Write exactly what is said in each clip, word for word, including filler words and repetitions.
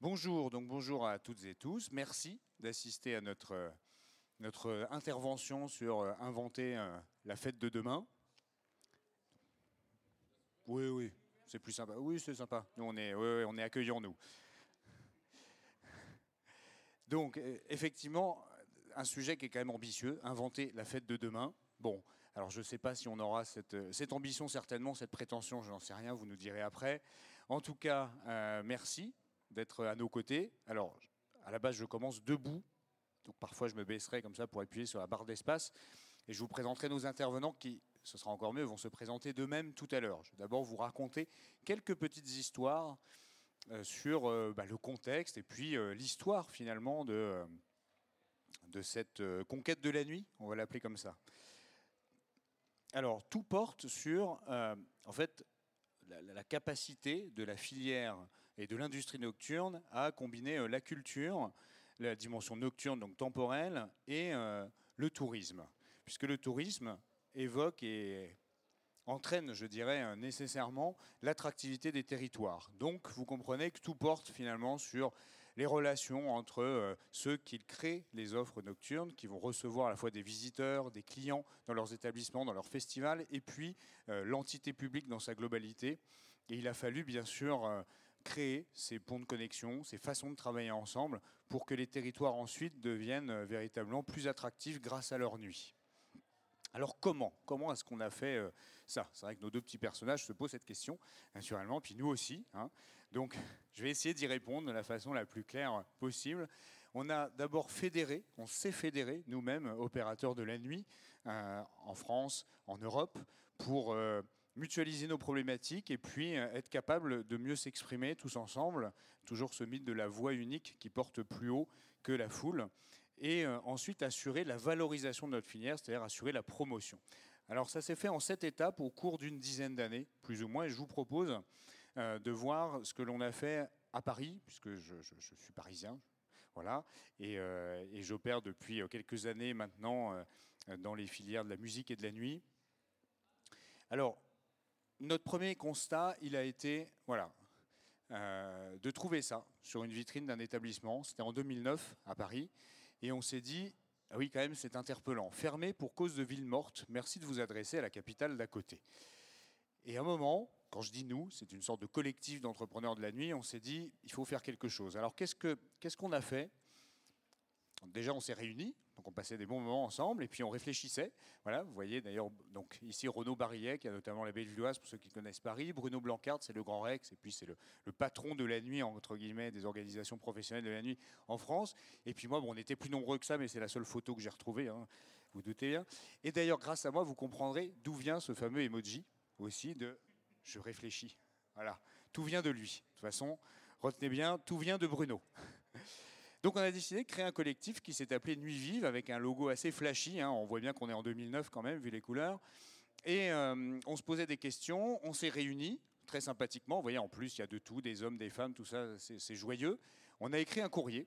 Bonjour, donc bonjour à toutes et tous. Merci d'assister à notre, notre intervention sur euh, inventer euh, la fête de demain. Oui, oui, c'est plus sympa. Oui, c'est sympa. Nous, on est, oui, oui, on est accueillants, nous. Donc, euh, effectivement, un sujet qui est quand même ambitieux, inventer la fête de demain. Bon, alors je ne sais pas si on aura cette, cette ambition, certainement, cette prétention, je n'en sais rien, vous nous direz après. En tout cas, euh, merci d'être à nos côtés. Alors, à la base, je commence debout. Donc parfois, je me baisserai comme ça pour appuyer sur la barre d'espace. Et je vous présenterai nos intervenants qui, ce sera encore mieux, vont se présenter d'eux-mêmes tout à l'heure. Je vais d'abord vous raconter quelques petites histoires euh, sur euh, bah, le contexte et puis euh, l'histoire finalement de, euh, de cette euh, conquête de la nuit, on va l'appeler comme ça. Alors, tout porte sur, euh, en fait, la, la capacité de la filière et de l'industrie nocturne à combiner euh, la culture, la dimension nocturne, donc temporelle, et euh, le tourisme. Puisque le tourisme évoque et entraîne, je dirais, nécessairement l'attractivité des territoires. Donc, vous comprenez que tout porte finalement sur les relations entre euh, ceux qui créent les offres nocturnes, qui vont recevoir à la fois des visiteurs, des clients dans leurs établissements, dans leurs festivals, et puis euh, l'entité publique dans sa globalité. Et il a fallu, bien sûr, euh, créer ces ponts de connexion, ces façons de travailler ensemble, pour que les territoires ensuite deviennent euh, véritablement plus attractifs grâce à leur nuit. Alors comment Comment est-ce qu'on a fait euh, ça? C'est vrai que nos deux petits personnages se posent cette question, naturellement, puis nous aussi. Hein. Donc je vais essayer d'y répondre de la façon la plus claire possible. On a d'abord fédéré, on s'est fédéré nous-mêmes, opérateurs de la nuit, euh, en France, en Europe, pour euh, mutualiser nos problématiques et puis euh, être capable de mieux s'exprimer tous ensemble. Toujours ce mythe de la voix unique qui porte plus haut que la foule. Et euh, ensuite assurer la valorisation de notre filière, c'est-à-dire assurer la promotion. Alors ça s'est fait en sept étapes au cours d'une dizaine d'années, plus ou moins, et je vous propose euh, de voir ce que l'on a fait à Paris, puisque je, je, je suis parisien, voilà, et, euh, et j'opère depuis quelques années maintenant euh, dans les filières de la musique et de la nuit. Alors, notre premier constat, il a été, voilà, euh, de trouver ça sur une vitrine d'un établissement. C'était en deux mille neuf à Paris. Et on s'est dit, ah oui, quand même, c'est interpellant. Fermé pour cause de ville morte, merci de vous adresser à la capitale d'à côté. Et à un moment, quand je dis nous, c'est une sorte de collectif d'entrepreneurs de la nuit, on s'est dit, il faut faire quelque chose. Alors qu'est-ce que, qu'est-ce qu'on a fait? Déjà, on s'est réunis, donc on passait des bons moments ensemble, et puis on réfléchissait. Voilà, vous voyez d'ailleurs, donc ici Renaud Barillet, qui a notamment la Bellevilloise, pour ceux qui connaissent Paris. Bruno Blancard, c'est le Grand Rex, et puis c'est le, le patron de la nuit, entre guillemets, des organisations professionnelles de la nuit en France. Et puis moi, bon, on était plus nombreux que ça, mais c'est la seule photo que j'ai retrouvée, hein, vous doutez bien. Et d'ailleurs, grâce à moi, vous comprendrez d'où vient ce fameux emoji aussi de « je réfléchis ». Voilà, tout vient de lui. De toute façon, retenez bien, tout vient de Bruno. Donc on a décidé de créer un collectif qui s'est appelé Nuit Vive, avec un logo assez flashy, hein. On voit bien qu'on est en deux mille neuf quand même, vu les couleurs. Et euh, on se posait des questions, on s'est réunis, très sympathiquement. Vous voyez, en plus, il y a de tout, des hommes, des femmes, tout ça, c'est, c'est joyeux. On a écrit un courrier,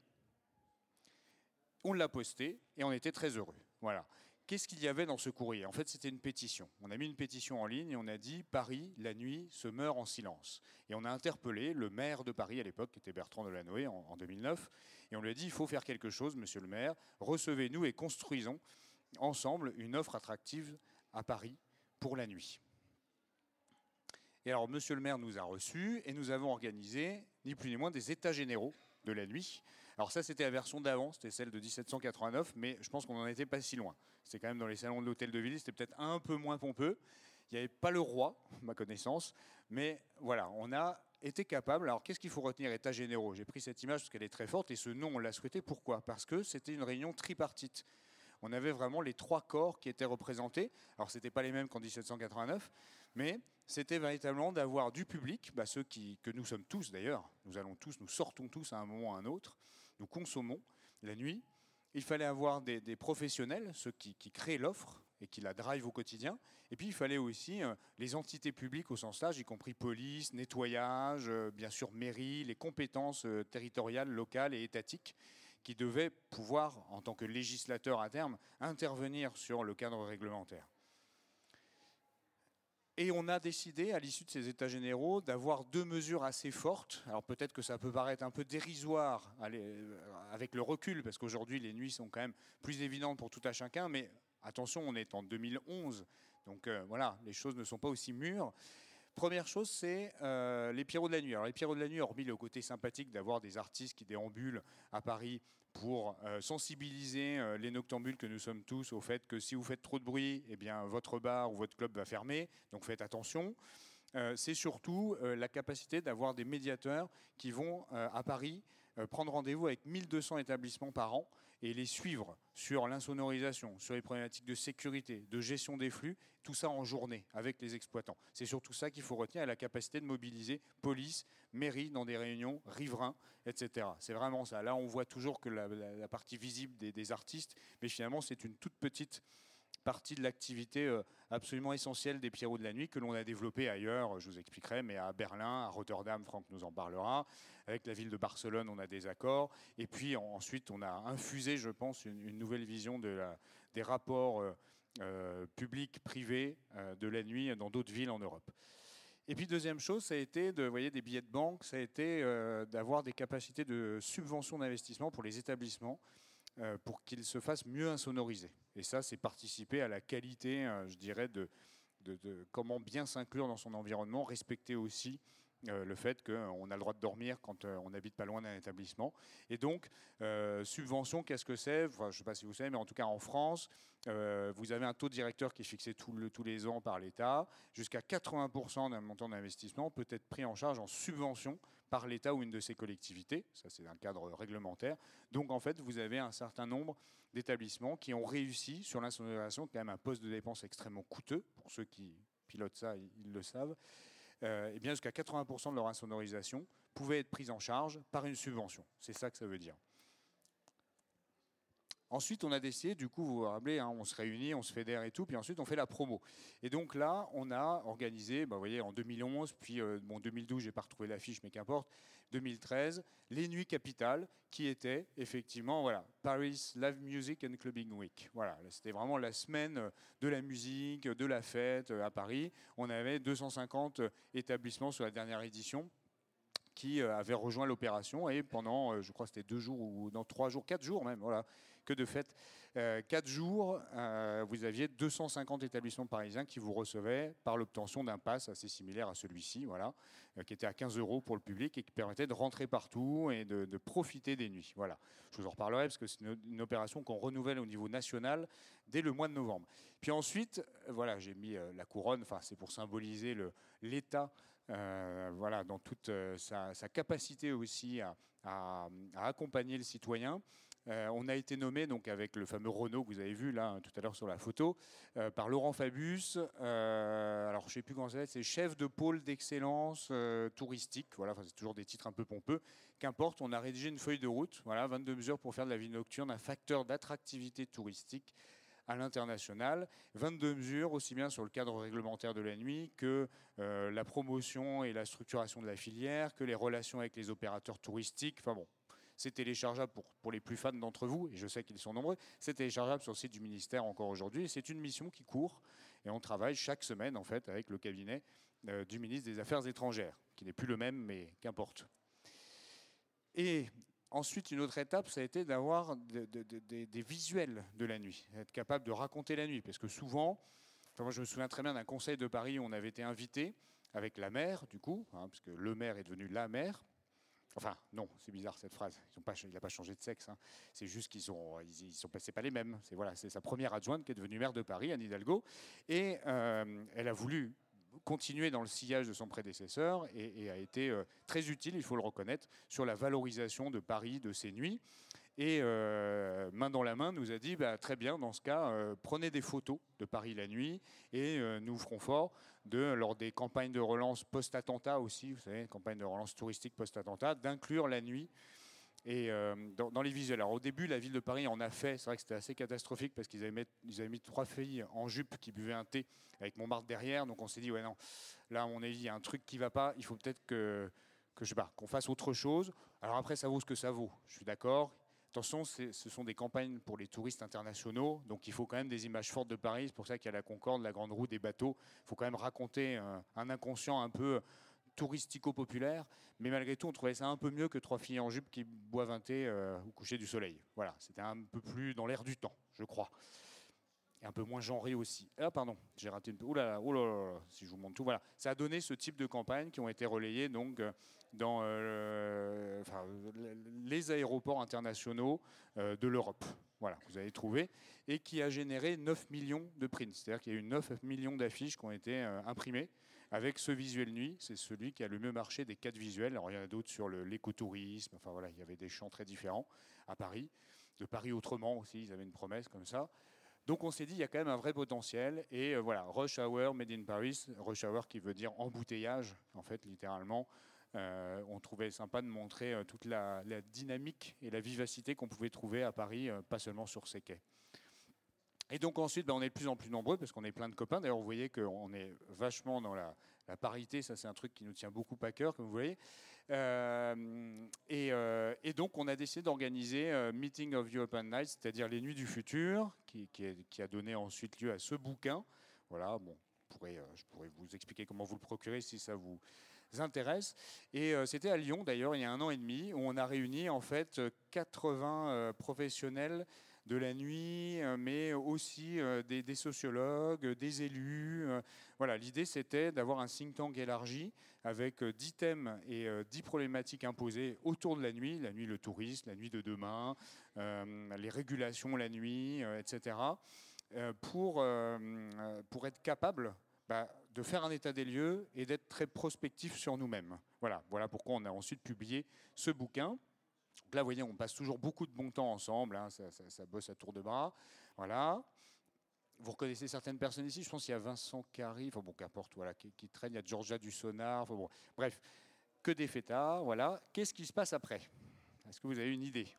on l'a posté, et on était très heureux. Voilà. Qu'est-ce qu'il y avait dans ce courrier? En fait, c'était une pétition. On a mis une pétition en ligne et on a dit « Paris, la nuit, se meurt en silence ». Et on a interpellé le maire de Paris à l'époque, qui était Bertrand Delanoë, en, en deux mille neuf, et on lui a dit « Il faut faire quelque chose, monsieur le maire, recevez-nous et construisons ensemble une offre attractive à Paris pour la nuit ». Et alors, monsieur le maire nous a reçus et nous avons organisé, ni plus ni moins, des états généraux de la nuit. Alors ça, c'était la version d'avant, c'était celle de dix-sept cent quatre-vingt-neuf, mais je pense qu'on n'en était pas si loin. C'était quand même dans les salons de l'hôtel de ville, c'était peut-être un peu moins pompeux. Il n'y avait pas le roi, ma connaissance, mais voilà, on a été capable. Alors qu'est-ce qu'il faut retenir, états généraux? J'ai pris cette image parce qu'elle est très forte, et ce nom, on l'a souhaité. Pourquoi? Parce que c'était une réunion tripartite. On avait vraiment les trois corps qui étaient représentés. Alors, ce n'était pas les mêmes qu'en dix-sept cent quatre-vingt-neuf, mais c'était véritablement d'avoir du public, bah, ceux qui, que nous sommes tous d'ailleurs, nous allons tous, nous sortons tous à un moment ou à un autre, nous consommons la nuit. Il fallait avoir des, des professionnels, ceux qui, qui créent l'offre et qui la drivent au quotidien. Et puis, il fallait aussi euh, les entités publiques au sens large, y compris police, nettoyage, euh, bien sûr mairie, les compétences euh, territoriales, locales et étatiques, qui devait pouvoir, en tant que législateur à terme, intervenir sur le cadre réglementaire. Et on a décidé, à l'issue de ces états généraux, d'avoir deux mesures assez fortes. Alors peut-être que ça peut paraître un peu dérisoire avec le recul, parce qu'aujourd'hui les nuits sont quand même plus évidentes pour tout à chacun, mais attention, on est en deux mille onze, donc euh, voilà, les choses ne sont pas aussi mûres. Première chose, c'est euh, les Pierrots de la nuit. Alors les Pierrots de la nuit, hormis le côté sympathique d'avoir des artistes qui déambulent à Paris pour euh, sensibiliser euh, les noctambules que nous sommes tous au fait que si vous faites trop de bruit, eh bien, votre bar ou votre club va fermer, donc faites attention. Euh, c'est surtout euh, la capacité d'avoir des médiateurs qui vont euh, à Paris euh, prendre rendez-vous avec mille deux cents établissements par an et les suivre sur l'insonorisation, sur les problématiques de sécurité, de gestion des flux, tout ça en journée avec les exploitants. C'est surtout ça qu'il faut retenir, la capacité de mobiliser police, mairie dans des réunions, riverains, et cetera. C'est vraiment ça. Là, on voit toujours que la, la, la partie visible des, des artistes, mais finalement, c'est une toute petite partie de l'activité absolument essentielle des Pierrots de la nuit que l'on a développée ailleurs, je vous expliquerai, mais à Berlin, à Rotterdam, Franck nous en parlera. Avec la ville de Barcelone, on a des accords. Et puis ensuite, on a infusé, je pense, une, une nouvelle vision de la, des rapports euh, euh, publics-privés euh, de la nuit dans d'autres villes en Europe. Et puis deuxième chose, ça a été de, vous voyez, des billets de banque, ça a été euh, d'avoir des capacités de subvention d'investissement pour les établissements, Euh, pour qu'ils se fassent mieux insonoriser. Et ça, c'est participer à la qualité, euh, je dirais, de, de, de comment bien s'inclure dans son environnement, respecter aussi euh, le fait qu'on a le droit de dormir quand euh, on n'habite pas loin d'un établissement. Et donc, euh, subvention, qu'est-ce que c'est? Enfin, je ne sais pas si vous savez, mais en tout cas en France, euh, vous avez un taux directeur qui est fixé tout le, tous les ans par l'État. Jusqu'à quatre-vingts pour cent d'un montant d'investissement peut être pris en charge en subvention par l'État ou une de ses collectivités. Ça, c'est un cadre réglementaire. Donc, en fait, vous avez un certain nombre d'établissements qui ont réussi sur l'insonorisation, quand même un poste de dépense extrêmement coûteux. Pour ceux qui pilotent ça, ils le savent. Euh, et bien jusqu'à quatre-vingts pour cent de leur insonorisation pouvait être prise en charge par une subvention. C'est ça que ça veut dire. Ensuite, on a décidé, du coup, vous vous rappelez, hein, on se réunit, on se fédère et tout, puis ensuite on fait la promo. Et donc là, on a organisé, bah, vous voyez, en deux mille onze, puis euh, bon, deux mille douze, je n'ai pas retrouvé l'affiche, mais qu'importe, deux mille treize, les Nuits Capitales, qui étaient effectivement, voilà, Paris Live Music and Clubbing Week. Voilà, c'était vraiment la semaine de la musique, de la fête à Paris. On avait deux cent cinquante établissements sur la dernière édition qui avaient rejoint l'opération, et pendant, je crois que c'était deux jours ou dans trois jours, quatre jours même, voilà, que de fait, euh, quatre jours, euh, vous aviez deux cent cinquante établissements parisiens qui vous recevaient par l'obtention d'un pass assez similaire à celui-ci, voilà, euh, qui était à quinze euros pour le public et qui permettait de rentrer partout et de, de profiter des nuits. Voilà. Je vous en reparlerai parce que c'est une, une opération qu'on renouvelle au niveau national dès le mois de novembre. Puis ensuite, voilà, j'ai mis euh, la couronne, enfin c'est pour symboliser le, l'État. Euh, voilà, dans toute euh, sa, sa capacité aussi à, à, à accompagner le citoyen. Euh, on a été nommé, donc, avec le fameux Renault que vous avez vu là tout à l'heure sur la photo, euh, par Laurent Fabius. Euh, alors, je ne sais plus comment ça va être, c'est chef de pôle d'excellence euh, touristique. Voilà, enfin, c'est toujours des titres un peu pompeux. Qu'importe, on a rédigé une feuille de route. Voilà, vingt-deux mesures pour faire de la vie nocturne un facteur d'attractivité touristique à l'international, vingt-deux mesures aussi bien sur le cadre réglementaire de la nuit que euh, la promotion et la structuration de la filière, que les relations avec les opérateurs touristiques. Enfin bon, c'est téléchargeable pour, pour les plus fans d'entre vous, et je sais qu'ils sont nombreux, c'est téléchargeable sur le site du ministère encore aujourd'hui, et c'est une mission qui court, et on travaille chaque semaine en fait avec le cabinet euh, du ministre des Affaires étrangères, qui n'est plus le même, mais qu'importe. Et ensuite, une autre étape, ça a été d'avoir de, de, de, des visuels de la nuit, être capable de raconter la nuit. Parce que souvent, enfin moi je me souviens très bien d'un conseil de Paris où on avait été invité avec la maire, du coup, hein, parce que le maire est devenu la maire. Enfin, non, c'est bizarre cette phrase. Ils ont pas, il n'a pas changé de sexe. Hein. C'est juste qu'ils sont, ils, ils sont passés pas les mêmes. C'est voilà, c'est sa première adjointe qui est devenue maire de Paris, Anne Hidalgo, et euh, elle a voulu continuer dans le sillage de son prédécesseur et, et a été euh, très utile, il faut le reconnaître, sur la valorisation de Paris, de ses nuits. Et euh, main dans la main, nous a dit, bah, très bien, dans ce cas, euh, prenez des photos de Paris la nuit et euh, nous ferons fort de, lors des campagnes de relance post-attentat aussi, vous savez, campagne de relance touristique post-attentat, d'inclure la nuit. Et euh, dans, dans les visuels. Alors au début, la ville de Paris en a fait. C'est vrai que c'était assez catastrophique parce qu'ils avaient, mis, ils avaient mis trois filles en jupe qui buvaient un thé avec Montmartre derrière. Donc on s'est dit, ouais non, là à mon avis, il y a un truc qui ne va pas. Il faut peut-être que, que je sais pas, qu'on fasse autre chose. Alors après, ça vaut ce que ça vaut. Je suis d'accord. attention, ce sont des campagnes pour les touristes internationaux, donc il faut quand même des images fortes de Paris. C'est pour ça qu'il y a la Concorde, la Grande Roue, des bateaux. Il faut quand même raconter euh, un inconscient un peu touristico-populaire, mais malgré tout, on trouvait ça un peu mieux que trois filles en jupe qui boivent un thé euh, au coucher du soleil. Voilà, c'était un peu plus dans l'air du temps, je crois. Et un peu moins genré aussi. Ah pardon, j'ai raté une... Ouh là là, ouh là là, si je vous montre tout, voilà. Ça a donné ce type de campagnes qui ont été relayées donc dans euh, enfin, les aéroports internationaux euh, de l'Europe. Voilà, vous avez trouvé. Et qui a généré neuf millions de prints. C'est-à-dire qu'il y a eu neuf millions d'affiches qui ont été euh, imprimées avec ce visuel nuit. C'est celui qui a le mieux marché des quatre visuels. Alors il y en a d'autres sur l'écotourisme. Enfin voilà, il y avait des champs très différents à Paris. De Paris autrement aussi, ils avaient une promesse comme ça. Donc on s'est dit, il y a quand même un vrai potentiel. Et euh, voilà, Rush Hour, Made in Paris. Rush Hour qui veut dire embouteillage, en fait, littéralement. Euh, on trouvait sympa de montrer euh, toute la, la dynamique et la vivacité qu'on pouvait trouver à Paris, euh, pas seulement sur ces quais. Et donc ensuite, ben, on est de plus en plus nombreux parce qu'on est plein de copains. D'ailleurs, vous voyez qu'on est vachement dans la, la parité. Ça, c'est un truc qui nous tient beaucoup à cœur, comme vous voyez. Euh, et, euh, et donc, on a décidé d'organiser euh, Meeting of European Nights, c'est-à-dire les Nuits du Futur, qui, qui, est, qui a donné ensuite lieu à ce bouquin. Voilà, bon, je pourrais, euh, je pourrais vous expliquer comment vous le procurer si ça vous intéresse. Et euh, c'était à Lyon, d'ailleurs, il y a un an et demi, où on a réuni en fait quatre-vingts euh, professionnels de la nuit, mais aussi des, des sociologues, des élus. Voilà, l'idée, c'était d'avoir un think tank élargi avec dix thèmes et dix problématiques imposées autour de la nuit. La nuit, le tourisme, la nuit de demain, euh, les régulations la nuit, euh, et cetera. Euh, pour, euh, pour être capable bah, de faire un état des lieux et d'être très prospectif sur nous-mêmes. Voilà, voilà pourquoi on a ensuite publié ce bouquin. Donc là, vous voyez, on passe toujours beaucoup de bon temps ensemble, hein, ça, ça, ça bosse à tour de bras. Voilà. Vous reconnaissez certaines personnes ici, je pense qu'il y a Vincent Carry, enfin bon, qu'importe, voilà, qui, qui traîne, il y a Georgia du Sonar, enfin bon, bref, que des fêtards, voilà. Qu'est-ce qui se passe après? Est-ce que vous avez une idée?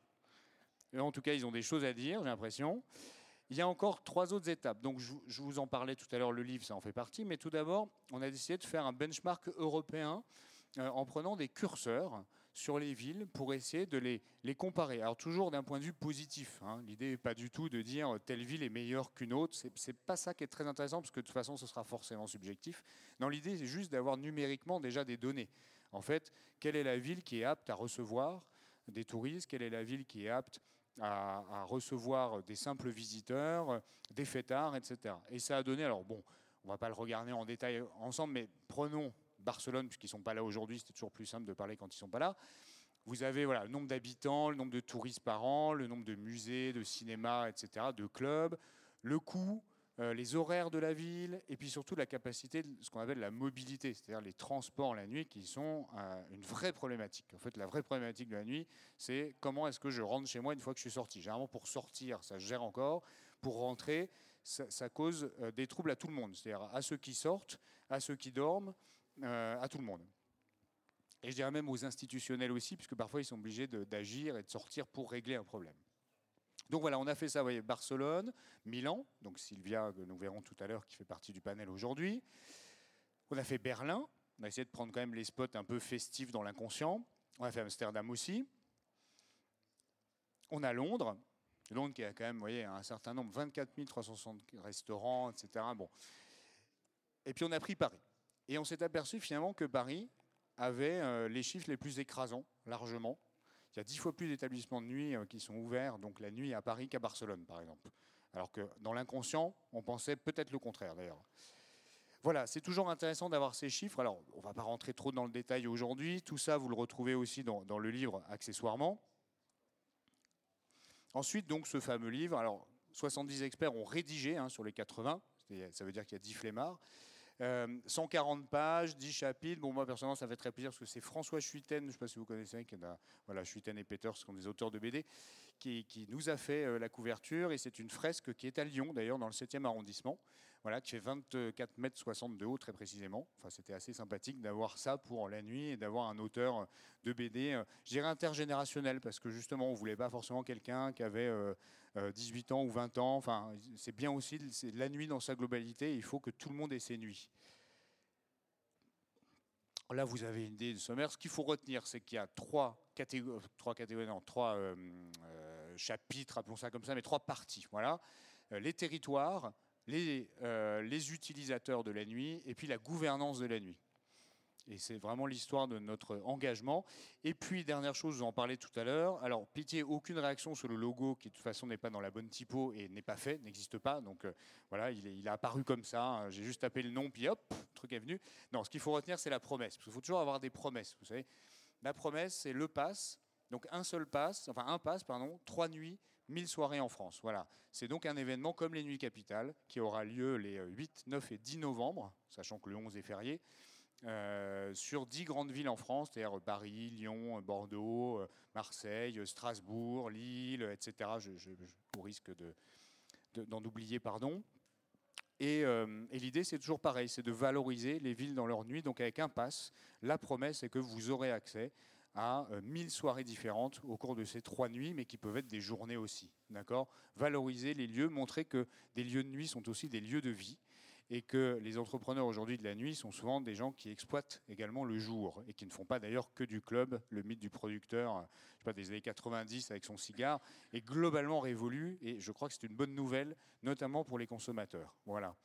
Et en tout cas, ils ont des choses à dire, j'ai l'impression. Il y a encore trois autres étapes. Donc, je, je vous en parlais tout à l'heure, le livre, ça en fait partie. Mais tout d'abord, on a décidé de faire un benchmark européen euh, en prenant des curseurs sur les villes pour essayer de les, les comparer. Alors toujours d'un point de vue positif. Hein. L'idée n'est pas du tout de dire telle ville est meilleure qu'une autre. C'est, c'est pas ça qui est très intéressant parce que de toute façon ce sera forcément subjectif. Non, l'idée c'est juste d'avoir numériquement déjà des données. En fait, quelle est la ville qui est apte à recevoir des touristes? Quelle est la ville qui est apte à, à recevoir des simples visiteurs, des fêtards, et cetera. Et ça a donné, alors bon, on ne va pas le regarder en détail ensemble, mais prenons Barcelone, puisqu'ils ne sont pas là aujourd'hui, c'était toujours plus simple de parler quand ils ne sont pas là. Vous avez voilà, le nombre d'habitants, le nombre de touristes par an, le nombre de musées, de cinémas, et cetera, de clubs, le coût, euh, les horaires de la ville, et puis surtout la capacité de ce qu'on appelle la mobilité, c'est-à-dire les transports la nuit qui sont euh, une vraie problématique. En fait, la vraie problématique de la nuit, c'est comment est-ce que je rentre chez moi une fois que je suis sorti. Généralement, pour sortir, ça se gère encore. Pour rentrer, ça, ça cause euh, des troubles à tout le monde, c'est-à-dire à ceux qui sortent, à ceux qui dorment, euh, à tout le monde. Et je dirais même aux institutionnels aussi, puisque parfois ils sont obligés de, d'agir et de sortir pour régler un problème. Donc voilà, on a fait ça, vous voyez, Barcelone, Milan, donc Sylvia, que nous verrons tout à l'heure, qui fait partie du panel aujourd'hui. On a fait Berlin, on a essayé de prendre quand même les spots un peu festifs dans l'inconscient. On a fait Amsterdam aussi. On a Londres, Londres qui a quand même, vous voyez, un certain nombre, vingt-quatre mille trois cent soixante restaurants, et cetera. Bon. Et puis on a pris Paris. Et on s'est aperçu finalement que Paris avait euh, les chiffres les plus écrasants, largement. Il y a dix fois plus d'établissements de nuit euh, qui sont ouverts, donc la nuit à Paris qu'à Barcelone, par exemple. Alors que dans l'inconscient, on pensait peut-être le contraire, d'ailleurs. Voilà, c'est toujours intéressant d'avoir ces chiffres. Alors, on ne va pas rentrer trop dans le détail aujourd'hui. Tout ça, vous le retrouvez aussi dans, dans le livre, accessoirement. Ensuite, donc, ce fameux livre. Alors, soixante-dix experts ont rédigé hein, sur les quatre-vingts. Ça veut dire qu'il y a dix flemmards. Euh, cent quarante pages, dix chapitres. Bon, moi, personnellement, ça me fait très plaisir parce que c'est François Schuiten, je ne sais pas si vous connaissez, qui a, voilà, Schuiten et Peters, qui sont des auteurs de B D, qui, qui nous a fait euh, la couverture. Et c'est une fresque qui est à Lyon, d'ailleurs, dans le septième arrondissement, voilà, qui fait vingt-quatre mètres soixante de haut, très précisément. Enfin, c'était assez sympathique d'avoir ça pour la nuit et d'avoir un auteur de B D, euh, je dirais intergénérationnel, parce que justement, on ne voulait pas forcément quelqu'un qui avait euh, euh, dix-huit ans ou vingt ans. Enfin, c'est bien aussi c'est la nuit dans sa globalité. Il faut que tout le monde ait ses nuits. Là, vous avez une idée de sommaire. Ce qu'il faut retenir, c'est qu'il y a trois catégories, trois catégories, non, trois euh, euh, chapitres, appelons ça comme ça, mais trois parties. Voilà. Euh, les territoires, les, euh, les utilisateurs de la nuit et puis la gouvernance de la nuit. Et c'est vraiment l'histoire de notre engagement. Et puis, dernière chose, je vous en parlais tout à l'heure. Alors, pitié, aucune réaction sur le logo qui, de toute façon, n'est pas dans la bonne typo et n'est pas fait, n'existe pas. Donc, euh, voilà, il, est, il a apparu comme ça. J'ai juste tapé le nom, puis hop, le truc est venu. Non, ce qu'il faut retenir, c'est la promesse. Parce qu'il faut toujours avoir des promesses, vous savez. La promesse, c'est le pass. Donc, un seul pass, enfin, un pass, pardon, trois nuits, mille soirées en France. Voilà. C'est donc un événement comme les Nuits Capitales qui aura lieu les huit, neuf et dix novembre, sachant que le onze est férié. Euh, sur dix grandes villes en France, c'est-à-dire Paris, Lyon, Bordeaux, Marseille, Strasbourg, Lille, et cetera. Je, je, je, au risque de, de, d'en oublier, pardon. Et, euh, et l'idée, c'est toujours pareil, c'est de valoriser les villes dans leur nuit. Donc avec un pass, la promesse est que vous aurez accès à euh, mille soirées différentes au cours de ces trois nuits, mais qui peuvent être des journées aussi. D'accord ? Valoriser les lieux, montrer que des lieux de nuit sont aussi des lieux de vie. Et que les entrepreneurs aujourd'hui de la nuit sont souvent des gens qui exploitent également le jour et qui ne font pas d'ailleurs que du club. Le mythe du producteur, je sais pas, des années quatre-vingt-dix avec son cigare est globalement révolu et je crois que c'est une bonne nouvelle, notamment pour les consommateurs. Voilà.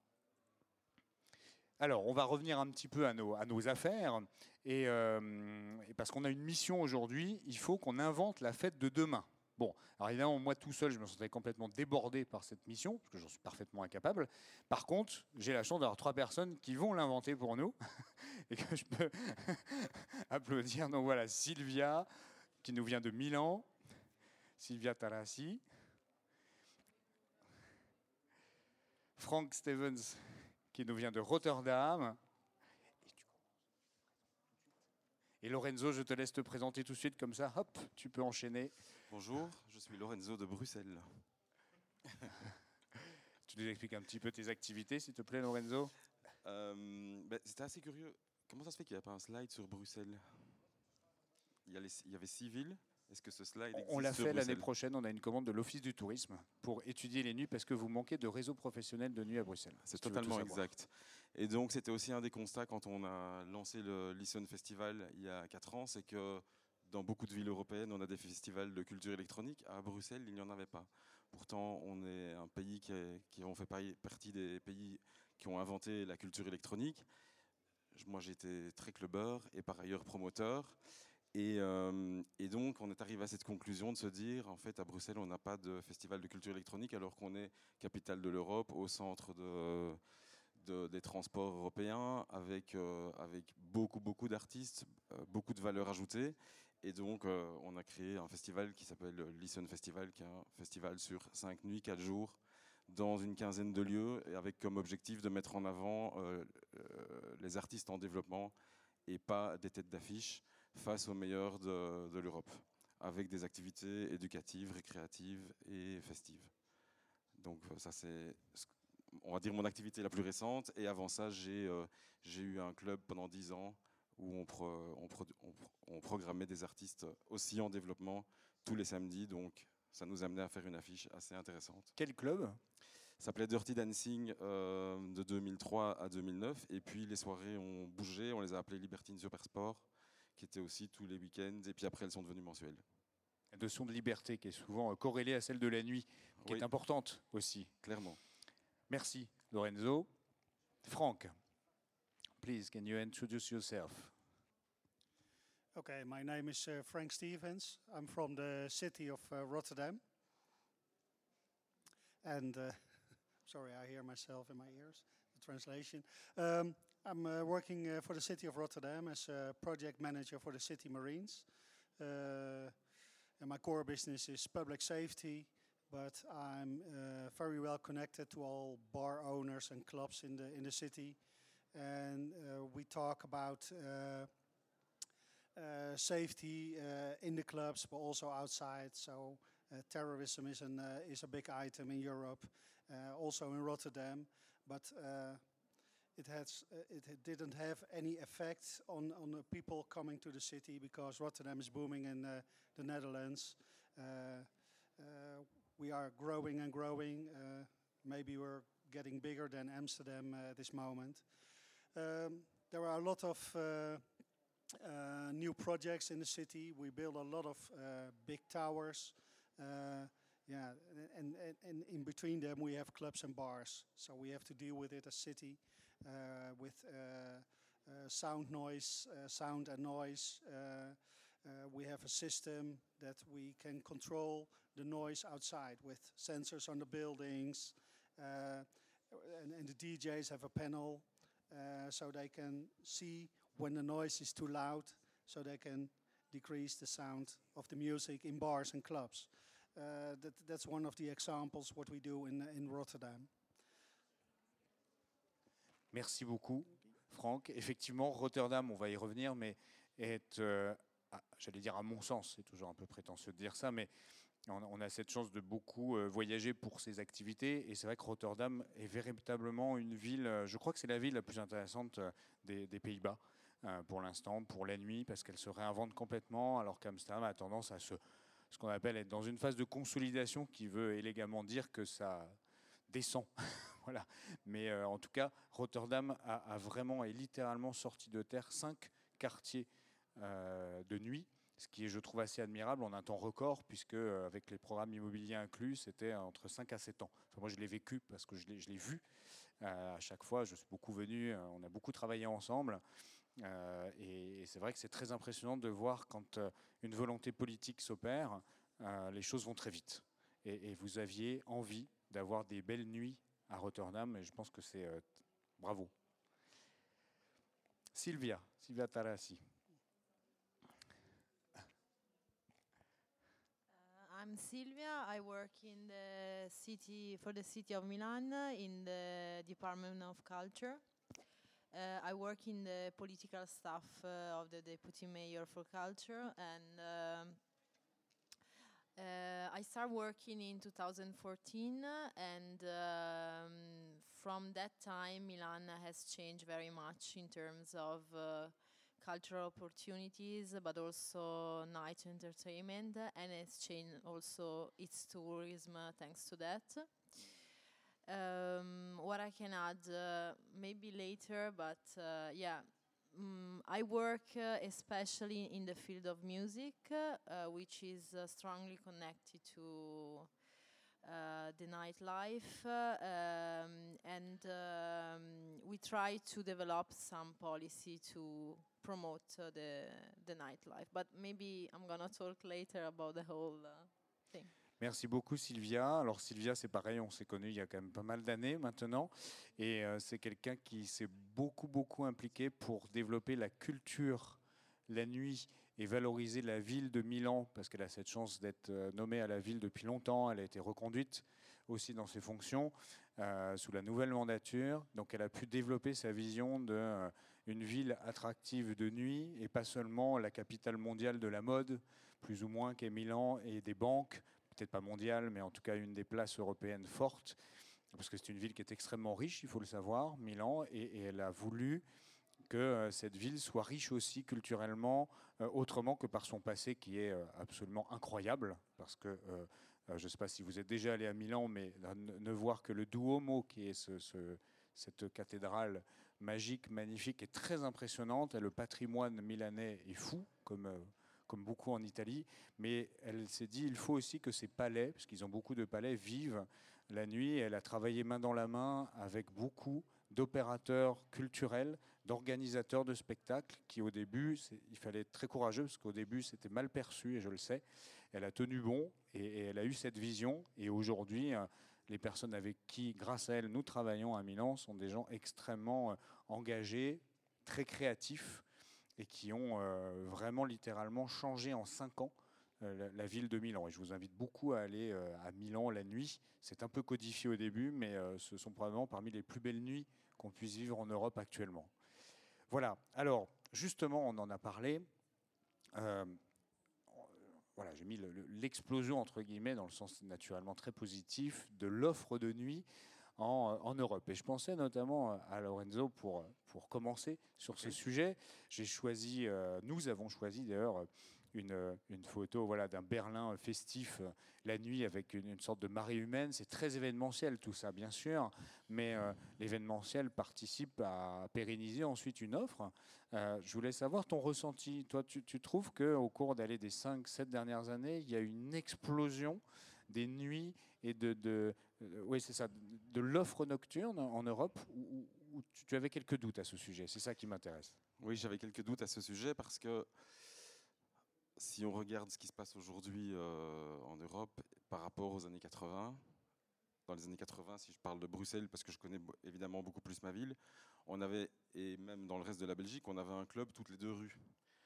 Alors, on va revenir un petit peu à nos, à nos affaires et, euh, et parce qu'on a une mission aujourd'hui, il faut qu'on invente la fête de demain. Bon, alors évidemment, moi tout seul, je me sentais complètement débordé par cette mission, parce que j'en suis parfaitement incapable. Par contre, j'ai la chance d'avoir trois personnes qui vont l'inventer pour nous, et que je peux applaudir. Donc voilà, Sylvia, qui nous vient de Milan, Sylvia Tarassi, Frank Stevens, qui nous vient de Rotterdam, et Lorenzo, je te laisse te présenter tout de suite, comme ça, hop, tu peux enchaîner. Bonjour, je suis Lorenzo de Bruxelles. Tu nous expliques un petit peu tes activités, s'il te plaît, Lorenzo ? euh, ben, C'était assez curieux. Comment ça se fait qu'il n'y a pas un slide sur Bruxelles ? il y, a les, il y avait six villes. Est-ce que ce slide existe? On l'a sur fait Bruxelles? l'année prochaine, on a une commande de l'Office du tourisme pour étudier les nuits parce que vous manquez de réseau professionnel de nuit à Bruxelles. C'est si totalement exact. Et donc c'était aussi un des constats quand on a lancé le Listen Festival il y a quatre ans, c'est que dans beaucoup de villes européennes, on a des festivals de culture électronique. À Bruxelles, il n'y en avait pas. Pourtant, on est un pays qui, est, qui ont fait partie des pays qui ont inventé la culture électronique. Moi, j'étais très clubbeur et par ailleurs promoteur. Et, euh, et donc, on est arrivé à cette conclusion de se dire, en fait, à Bruxelles, on n'a pas de festival de culture électronique, alors qu'on est capitale de l'Europe, au centre de, de, des transports européens, avec, euh, avec beaucoup, beaucoup d'artistes, euh, beaucoup de valeur ajoutée. Et donc, euh, on a créé un festival qui s'appelle Listen Festival, qui est un festival sur cinq nuits, quatre jours, dans une quinzaine de lieux, et avec comme objectif de mettre en avant euh, euh, les artistes en développement et pas des têtes d'affiche face aux meilleurs de, de l'Europe, avec des activités éducatives, récréatives et festives. Donc ça, c'est, on va dire, mon activité la plus récente. Et avant ça, j'ai, euh, j'ai eu un club pendant dix ans où on, pro, on, pro, on, on programmait des artistes aussi en développement tous les samedis. Donc ça nous amenait à faire une affiche assez intéressante. Quel club ? Ça s'appelait Dirty Dancing euh, de deux mille trois à deux mille neuf. Et puis les soirées ont bougé, on les a appelées Libertine Supersport, qui étaient aussi tous les week-ends. Et puis après, elles sont devenues mensuelles. La notion de liberté qui est souvent corrélée à celle de la nuit, qui oui, est importante aussi. Clairement. Merci, Lorenzo. Frank, please, can you introduce yourself? Okay, my name is uh, Frank Stevens. I'm from the city of uh, Rotterdam. And, uh, sorry, I hear myself in my ears, the translation. Um, I'm uh, working uh, for the city of Rotterdam as a project manager for the city Marines. Uh, and my core business is public safety, but I'm uh, very well connected to all bar owners and clubs in the in the city. And uh, we talk about uh, uh, safety uh, in the clubs, but also outside. So uh, terrorism is an uh, is a big item in Europe, uh, also in Rotterdam. But uh, it has uh, it, it didn't have any effect on on the people coming to the city because Rotterdam is booming in uh, the Netherlands. Uh, uh, we are growing and growing. Uh, maybe we're getting bigger than Amsterdam uh, at this moment. Um, there are a lot of uh, uh, new projects in the city. We build a lot of uh, big towers, Uh, yeah, and, and, and in between them we have clubs and bars. So we have to deal with it as city, uh, with uh, uh, sound noise, uh, sound and noise. Uh, uh, we have a system that we can control the noise outside with sensors on the buildings, uh, and, and the D Js have a panel, uh, so they can see when the noise is too loud, so they can decrease the sound of the music in bars and clubs. Uh, that, that's one of the examples what we do in, in Rotterdam. Merci beaucoup, Franck. Effectivement, Rotterdam, on va y revenir, mais est, euh, ah, j'allais dire à mon sens, c'est toujours un peu prétentieux de dire ça, mais on, on a cette chance de beaucoup euh, voyager pour ces activités, et c'est vrai que Rotterdam est véritablement une ville, euh, je crois que c'est la ville la plus intéressante euh, des, des Pays-Bas euh, pour l'instant, pour la nuit, parce qu'elle se réinvente complètement, alors qu'Amsterdam a tendance à se, ce qu'on appelle être dans une phase de consolidation qui veut élégamment dire que ça descend. Voilà. Mais euh, en tout cas, Rotterdam a, a vraiment et littéralement sorti de terre cinq quartiers euh, de nuit, ce qui est, je trouve, assez admirable en un temps record, puisque euh, avec les programmes immobiliers inclus, c'était entre cinq à sept ans. Enfin, moi, je l'ai vécu parce que je l'ai, je l'ai vu euh, à chaque fois. Je suis beaucoup venu, euh, on a beaucoup travaillé ensemble. Euh, et, et c'est vrai que c'est très impressionnant de voir quand euh, une volonté politique s'opère, euh, les choses vont très vite. Et, et vous aviez envie d'avoir des belles nuits à Rotterdam, et je pense que c'est euh, bravo. Sylvia, Sylvia Tarassi. Uh, I'm Silvia. I work in the city for the city of Milan in the Department of Culture. Uh, I work in the political staff uh, of the Deputy Mayor for Culture, and um, uh, I started working in two thousand fourteen, and um, from that time Milan has changed very much in terms of uh, cultural opportunities, but also night entertainment, and it's changed also its tourism uh, thanks to that. Um, what I can add, uh, maybe later, but uh, yeah, mm, I work uh, especially in the field of music, uh, which is uh, strongly connected to uh, the nightlife, uh, um, and um, we try to develop some policy to promote uh, the the nightlife. But maybe I'm gonna talk later about the whole uh, thing. Merci beaucoup Sylvia. Alors Sylvia, c'est pareil, on s'est connus il y a quand même pas mal d'années maintenant, et euh, c'est quelqu'un qui s'est beaucoup beaucoup impliqué pour développer la culture la nuit et valoriser la ville de Milan, parce qu'elle a cette chance d'être euh, nommée à la ville depuis longtemps. Elle a été reconduite aussi dans ses fonctions euh, sous la nouvelle mandature, donc elle a pu développer sa vision de euh, une ville attractive de nuit, et pas seulement la capitale mondiale de la mode, plus ou moins, qu'est Milan, et des banques, peut-être pas mondiale, mais en tout cas une des places européennes fortes, parce que c'est une ville qui est extrêmement riche, il faut le savoir, Milan, et, et elle a voulu que euh, cette ville soit riche aussi culturellement, euh, autrement que par son passé qui est euh, absolument incroyable, parce que euh, euh, je ne sais pas si vous êtes déjà allé à Milan, mais ne, ne voir que le Duomo, qui est ce, ce, cette cathédrale magique, magnifique, est très impressionnante, et le patrimoine milanais est fou, comme... Euh, comme beaucoup en Italie, mais elle s'est dit il faut aussi que ces palais, parce qu'ils ont beaucoup de palais, vivent la nuit. Elle a travaillé main dans la main avec beaucoup d'opérateurs culturels, d'organisateurs de spectacles, qui au début, il fallait être très courageux, parce qu'au début c'était mal perçu, et je le sais. Elle a tenu bon, et, et elle a eu cette vision, et aujourd'hui, euh, les personnes avec qui, grâce à elle, nous travaillons à Milan, sont des gens extrêmement euh, engagés, très créatifs, et qui ont euh, vraiment littéralement changé en cinq ans euh, la, la ville de Milan. Et je vous invite beaucoup à aller euh, à Milan la nuit. C'est un peu codifié au début, mais euh, ce sont probablement parmi les plus belles nuits qu'on puisse vivre en Europe actuellement. Voilà, alors justement, on en a parlé. Euh, voilà, j'ai mis le, le, l'explosion, entre guillemets, dans le sens naturellement très positif, de l'offre de nuit En, en Europe. Et je pensais notamment à Lorenzo pour, pour commencer sur ce sujet. J'ai choisi, euh, nous avons choisi d'ailleurs une, une photo voilà, d'un Berlin festif euh, la nuit avec une, une sorte de marée humaine. C'est très événementiel tout ça, bien sûr, mais euh, l'événementiel participe à pérenniser ensuite une offre. Euh, je voulais savoir ton ressenti. Toi, tu, tu trouves qu'au cours d'aller des cinq sept dernières années, il y a une explosion des nuits et de, de, euh, oui, c'est ça, de l'offre nocturne en Europe, où, où tu, tu avais quelques doutes à ce sujet. C'est ça qui m'intéresse. Oui, j'avais quelques doutes à ce sujet parce que si on regarde ce qui se passe aujourd'hui euh, en Europe par rapport aux années quatre-vingts, dans les années quatre-vingts, si je parle de Bruxelles, parce que je connais évidemment beaucoup plus ma ville, on avait, et même dans le reste de la Belgique, on avait un club toutes les deux rues.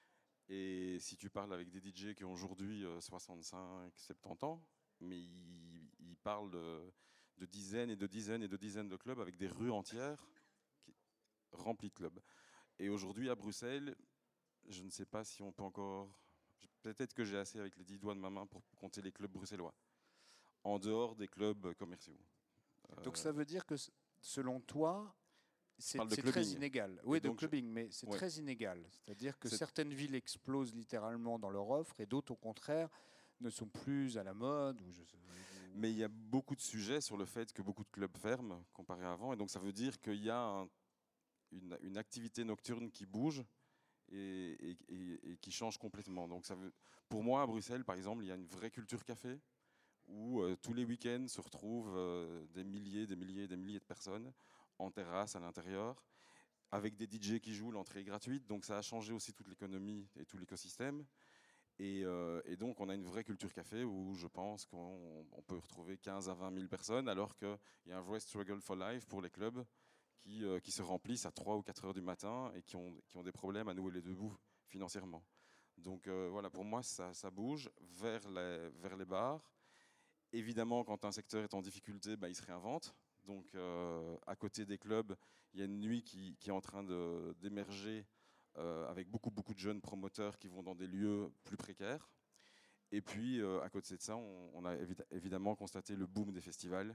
Et si tu parles avec des D J qui ont aujourd'hui euh, soixante-cinq, soixante-dix ans, mais ils, ils parlent de, de dizaines et de dizaines et de dizaines de clubs avec des rues entières qui, remplies de clubs. Et aujourd'hui à Bruxelles, je ne sais pas si on peut encore... Peut-être que j'ai assez avec les dix doigts de ma main pour compter les clubs bruxellois, en dehors des clubs commerciaux. Donc ça veut dire que, selon toi, c'est très clubbing. inégal. Oui, de donc, clubbing, mais c'est ouais. très inégal. C'est-à-dire que certaines villes explosent littéralement dans leur offre et d'autres, au contraire, ne sont plus à la mode. Ou je sais, ou... Mais il y a beaucoup de sujets sur le fait que beaucoup de clubs ferment comparé à avant. Et donc ça veut dire qu'il y a un, une, une activité nocturne qui bouge et, et, et, et qui change complètement. Donc ça veut, pour moi, à Bruxelles, par exemple, il y a une vraie culture café où euh, tous les week-ends se retrouvent euh, des milliers, des milliers, des milliers de personnes en terrasse, à l'intérieur, avec des D J qui jouent, l'entrée est gratuite. Donc ça a changé aussi toute l'économie et tout l'écosystème. Et, euh, et donc on a une vraie culture café où je pense qu'on on peut retrouver quinze à vingt mille personnes, alors qu'il y a un vrai struggle for life pour les clubs qui, euh, qui se remplissent à trois ou quatre heures du matin et qui ont, qui ont des problèmes à nouer les debout financièrement. Donc euh, voilà, pour moi, ça, ça bouge vers les, vers les bars. Évidemment, quand un secteur est en difficulté, bah, il se réinvente. Donc euh, à côté des clubs, il y a une nuit qui, qui est en train de, d'émerger euh, avec beaucoup, beaucoup de jeunes promoteurs qui vont dans des lieux plus précaires. Et puis, euh, à côté de ça, on, on a évi- évidemment constaté le boom des festivals.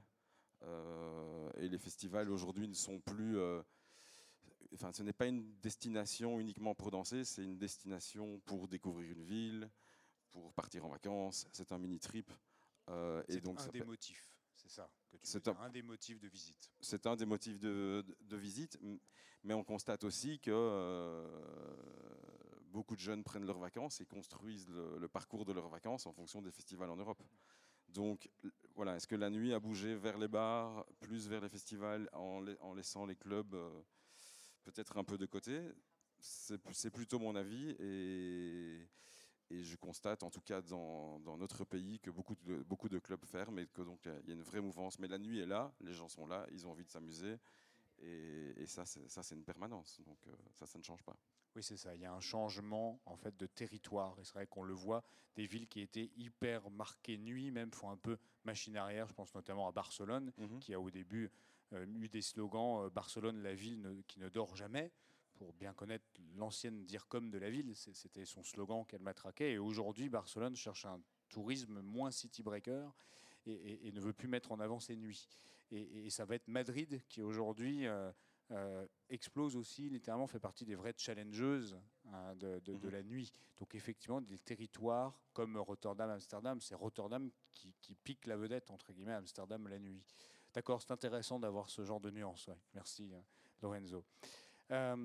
Euh, et les festivals aujourd'hui ne sont plus... Euh, enfin, ce n'est pas une destination uniquement pour danser, c'est une destination pour découvrir une ville, pour partir en vacances. C'est un mini-trip. Euh, c'est et donc un ça des peut... motifs, c'est ça que tu veux C'est dire, un... un des motifs de visite. C'est un des motifs de, de, de visite, mais on constate aussi que euh, beaucoup de jeunes prennent leurs vacances et construisent le, le parcours de leurs vacances en fonction des festivals en Europe. Donc voilà, est-ce que la nuit a bougé vers les bars, plus vers les festivals, en, la, en laissant les clubs euh, peut-être un peu de côté? C'est, c'est plutôt mon avis, et, et je constate en tout cas dans, dans notre pays que beaucoup de, beaucoup de clubs ferment et que donc il y a une vraie mouvance. Mais la nuit est là, les gens sont là, ils ont envie de s'amuser, et, et ça, c'est, ça c'est une permanence. Donc euh, ça, ça ne change pas. Oui, c'est ça. Il y a un changement en fait de territoire. Et c'est vrai qu'on le voit, des villes qui étaient hyper marquées nuit, même font un peu machine arrière. Je pense notamment à Barcelone, Mm-hmm. qui a au début euh, eu des slogans euh, Barcelone, la ville ne, qui ne dort jamais. Pour bien connaître l'ancienne DIRCOM de la ville, c'était son slogan qu'elle matraquait. Et aujourd'hui, Barcelone cherche un tourisme moins city breaker et, et, et ne veut plus mettre en avant ses nuits. Et, et ça va être Madrid qui aujourd'hui euh, euh, explose aussi, littéralement fait partie des vraies challengeuses hein, de, de, de la nuit. Donc effectivement, des territoires comme Rotterdam, Amsterdam, c'est Rotterdam qui, qui pique la vedette, entre guillemets, Amsterdam la nuit. D'accord, c'est intéressant d'avoir ce genre de nuance. Ouais. Merci Lorenzo. Euh,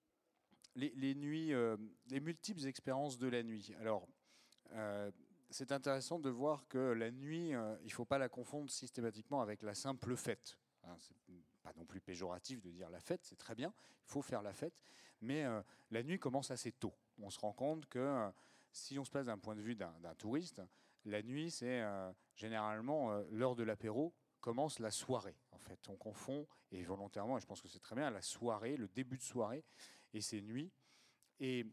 les, les nuits, euh, les multiples expériences de la nuit. Alors, euh, c'est intéressant de voir que la nuit, euh, il ne faut pas la confondre systématiquement avec la simple fête. Hein, c'est pas non plus péjoratif de dire la fête, c'est très bien, il faut faire la fête, mais euh, la nuit commence assez tôt. On se rend compte que euh, si on se place d'un point de vue d'un, d'un touriste, la nuit, c'est euh, généralement euh, l'heure de l'apéro, commence la soirée. En fait, on confond, et volontairement, et je pense que c'est très bien, la soirée, le début de soirée, et c'est nuit. Et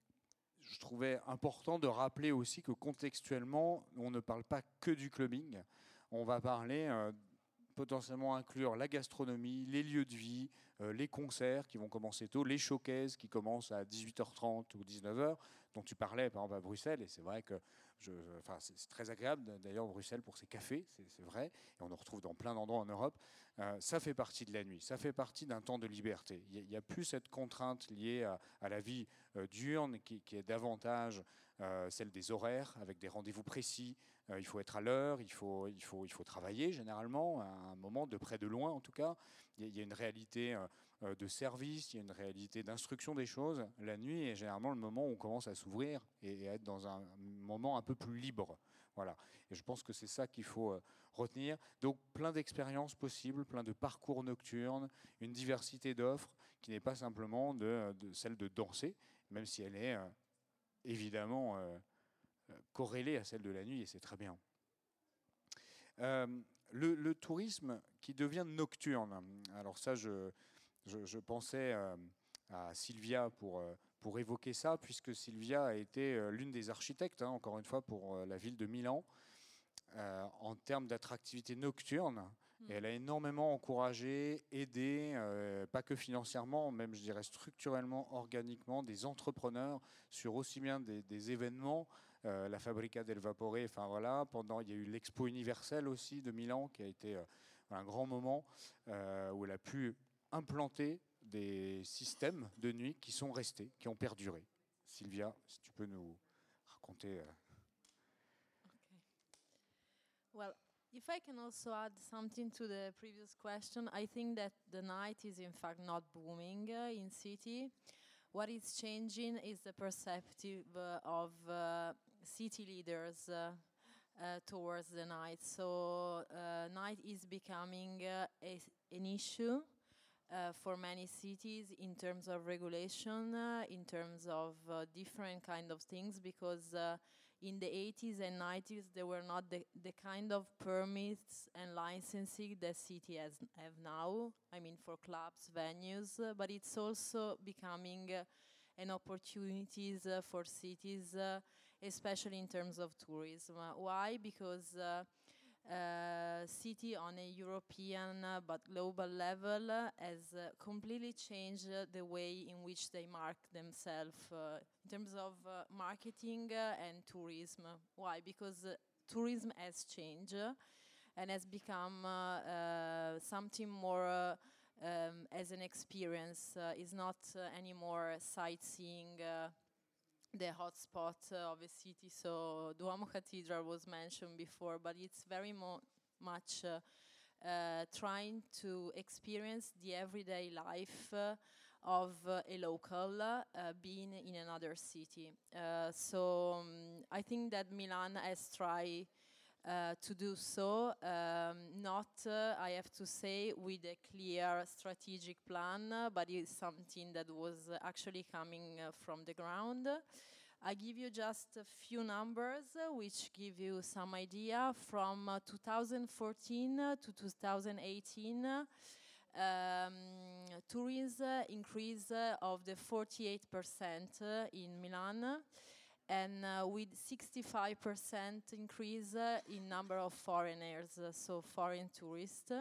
je trouvais important de rappeler aussi que contextuellement, on ne parle pas que du clubbing. On va parler, euh, potentiellement inclure la gastronomie, les lieux de vie, euh, les concerts qui vont commencer tôt, les showcases qui commencent à dix-huit heures trente ou dix-neuf heures, dont tu parlais par exemple à Bruxelles. Et c'est vrai que je, enfin, c'est, c'est très agréable d'ailleurs Bruxelles pour ses cafés, c'est, c'est vrai. Et on en retrouve dans plein d'endroits en Europe. Euh, ça fait partie de la nuit, ça fait partie d'un temps de liberté. Il n'y a, a plus cette contrainte liée à, à la vie euh, diurne qui, qui est davantage euh, celle des horaires, avec des rendez-vous précis. Euh, il faut être à l'heure, il faut, il, faut, il faut travailler généralement, à un moment, de près de loin en tout cas. Il y, il y a une réalité euh, de service, il y a une réalité d'instruction des choses. La nuit est généralement le moment où on commence à s'ouvrir et, et à être dans un moment un peu plus libre. Voilà. Et je pense que c'est ça qu'il faut euh, retenir. Donc plein d'expériences possibles, plein de parcours nocturnes, une diversité d'offres qui n'est pas simplement de, de celle de danser, même si elle est euh, évidemment euh, corrélée à celle de la nuit, et c'est très bien. Euh, le, le tourisme qui devient nocturne. Alors ça, je, je, je pensais euh, à Sylvia pour, euh, pour évoquer ça, puisque Sylvia a été euh, l'une des architectes, hein, encore une fois, pour euh, la ville de Milan, euh, en termes d'attractivité nocturne. Et elle a énormément encouragé, aidé, euh, pas que financièrement, même je dirais structurellement, organiquement, des entrepreneurs sur aussi bien des, des événements, euh, la Fabbrica del Vapore, enfin voilà, pendant, il y a eu l'Expo universelle aussi de Milan, qui a été euh, un grand moment, euh, où elle a pu implanter des systèmes de nuit qui sont restés, qui ont perduré. Sylvia, si tu peux nous raconter... Euh... Okay. Well, if I can also add something to the previous question, I think that the night is in fact not booming uh, in city. What is changing is the perspective uh, of uh, city leaders uh, uh, towards the night. So uh, night is becoming uh, a, an issue uh, for many cities in terms of regulation, uh, in terms of uh, different kind of things, because uh, in the eighties and nineties, there were not the, the kind of permits and licensing that city has have now. I mean, for clubs, venues, uh, but it's also becoming uh, an opportunities uh, for cities, uh, especially in terms of tourism. Uh, why? Because uh, uh, city on a European uh, but global level uh, has uh, completely changed uh, the way in which they market themselves uh, in terms of uh, marketing uh, and tourism. Why? Because uh, tourism has changed uh, and has become uh, uh, something more uh, um, as an experience. Uh, it's not uh, anymore sightseeing uh, the hotspot uh, of a city. So Duomo Cathedral was mentioned before, but it's very mo much uh, uh, trying to experience the everyday life uh, of uh, a local uh, being in another city. Uh, so um, I think that Milan has tried Uh, to do so, um, not, uh, I have to say, with a clear strategic plan, uh, but it's something that was uh, actually coming uh, from the ground. I give you just a few numbers uh, which give you some idea. From uh, two thousand fourteen uh, to two thousand eighteen, uh, um, tourism increase uh, of the forty-eight percent uh, in Milan, and uh, with sixty-five percent increase uh, in number of foreigners, uh, so foreign tourists.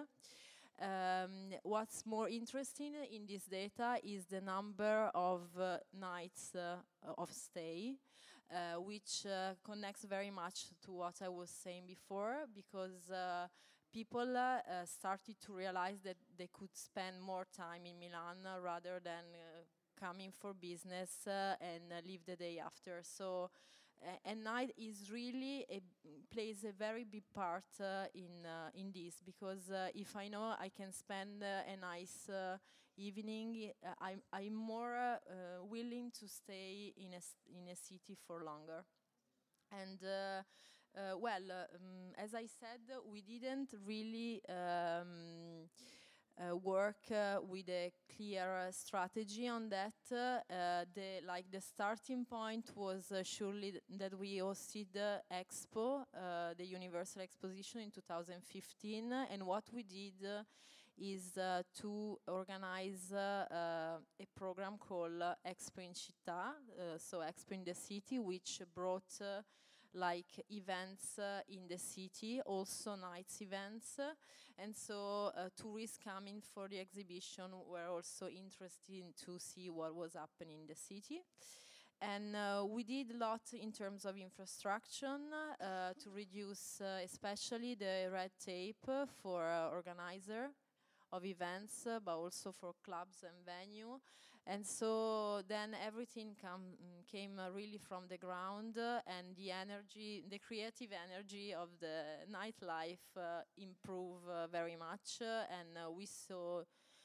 Um, what's more interesting in this data is the number of uh, nights uh, of stay, uh, which uh, connects very much to what I was saying before, because uh, people uh, uh, started to realize that they could spend more time in Milan uh, rather than uh, coming for business uh, and uh, leave the day after. So, uh, and night is really a, plays a very big part uh, in uh, in this, because uh, if I know I can spend uh, a nice uh, evening, uh, I'm I'm more uh, uh, willing to stay in a in a city for longer. And uh, uh, well, uh, um, as I said, we didn't really. Um, Uh, work uh, with a clear uh, strategy on that. Uh, the like the starting point was uh, surely th that we hosted the Expo, uh, the Universal Exposition in two thousand fifteen, and what we did uh, is uh, to organize uh, uh, a program called uh, Expo in Città, uh, so Expo in the City, which brought uh, like events uh, in the city, also nights events, uh, and so uh, tourists coming for the exhibition were also interested to see what was happening in the city. And uh, we did a lot in terms of infrastructure uh, to reduce uh, especially the red tape uh, for uh, organizer of events, uh, but also for clubs and venue. And so then everything come, came uh, really from the ground, uh, and the energy, the creative energy of the nightlife uh, improved uh, very much, uh, and uh, we saw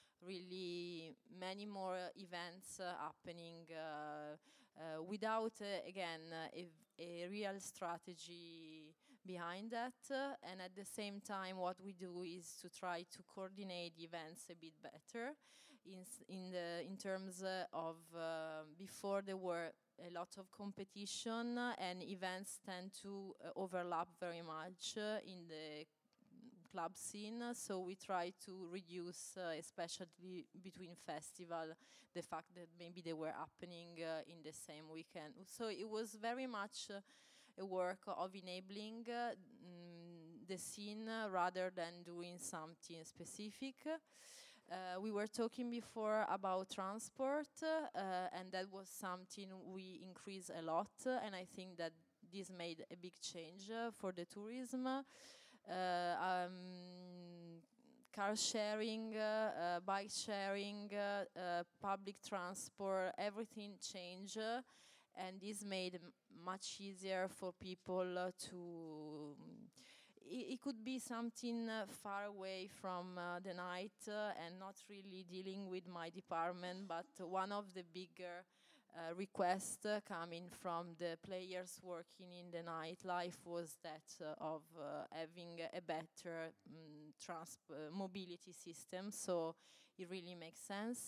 really many more events uh, happening uh, uh, without, uh, again, uh, a, a real strategy behind that. Uh, and at the same time, what we do is to try to coordinate events a bit better in, in, the, in terms uh, of uh, before there were a lot of competition, uh, and events tend to uh, overlap very much uh, in the club scene, so we try to reduce, uh, especially between festival, the fact that maybe they were happening uh, in the same weekend. So it was very much uh, a work of enabling uh, mm, the scene uh, rather than doing something specific. Uh, we were talking before about transport, uh, and that was something we increased a lot, uh, and I think that this made a big change uh, for the tourism. Uh, um, car sharing, uh, uh, bike sharing, uh, uh, public transport, everything changed, uh, and this made it much easier for people uh, to. It, it could be something uh, far away from uh, the night uh, and not really dealing with my department, but one of the bigger Uh, request uh, coming from the players working in the nightlife was that uh, of uh, having a better um, trans uh, mobility system, so it really makes sense.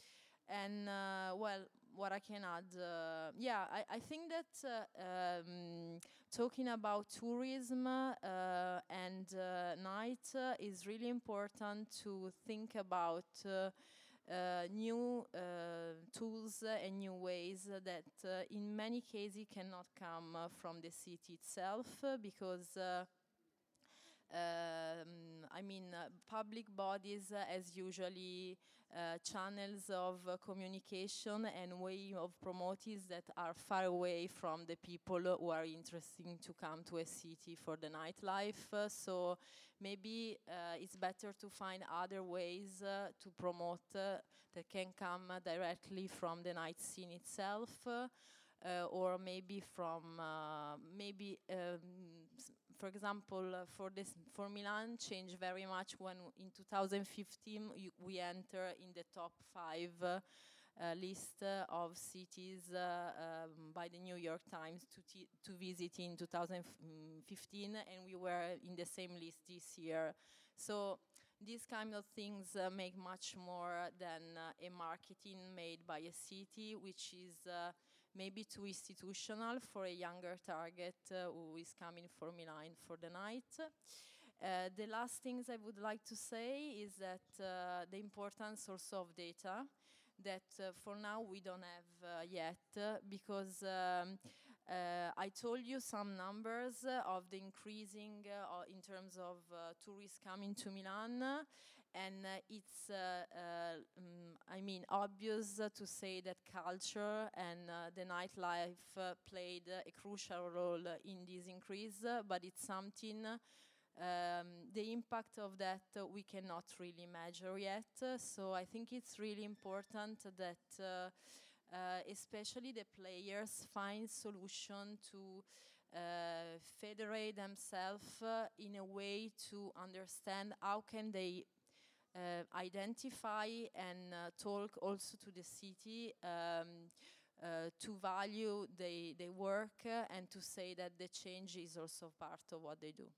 And uh, well, what I can add, uh, yeah, I, I think that uh, um, talking about tourism uh, and uh, night uh, is really important to think about uh, Uh, new uh, tools and new ways that uh, in many cases cannot come uh, from the city itself, uh, because uh, um, I mean uh, public bodies uh, as usually uh, channels of uh, communication and way of promoting that are far away from the people who are interested to come to a city for the nightlife. Uh, so maybe uh, it's better to find other ways uh, to promote uh, that can come uh, directly from the night scene itself, uh, uh, or maybe from uh, maybe um, for example uh, for this for Milan changed very much when in two thousand fifteen you, we enter in the top five uh, Uh, list uh, of cities uh, um, by the New York Times to, t to visit in two thousand fifteen, and we were in the same list this year. So these kind of things uh, make much more than uh, a marketing made by a city, which is uh, maybe too institutional for a younger target uh, who is coming for Milan for the night. Uh, the last things I would like to say is that uh, the importance also of data, that uh, for now we don't have uh, yet, uh, because um, uh, I told you some numbers uh, of the increasing uh, in terms of uh, tourists coming to Milan, and uh, it's, uh, uh, um, I mean, obvious uh, to say that culture and uh, the nightlife uh, played uh, a crucial role in this increase, uh, but it's something Um, the impact of that uh, we cannot really measure yet, uh, so I think it's really important that uh, uh, especially the players find solution to uh, federate themselves uh, in a way to understand how can they uh, identify and uh, talk also to the city um, uh, to value their work uh, and to say that the change is also part of what they do.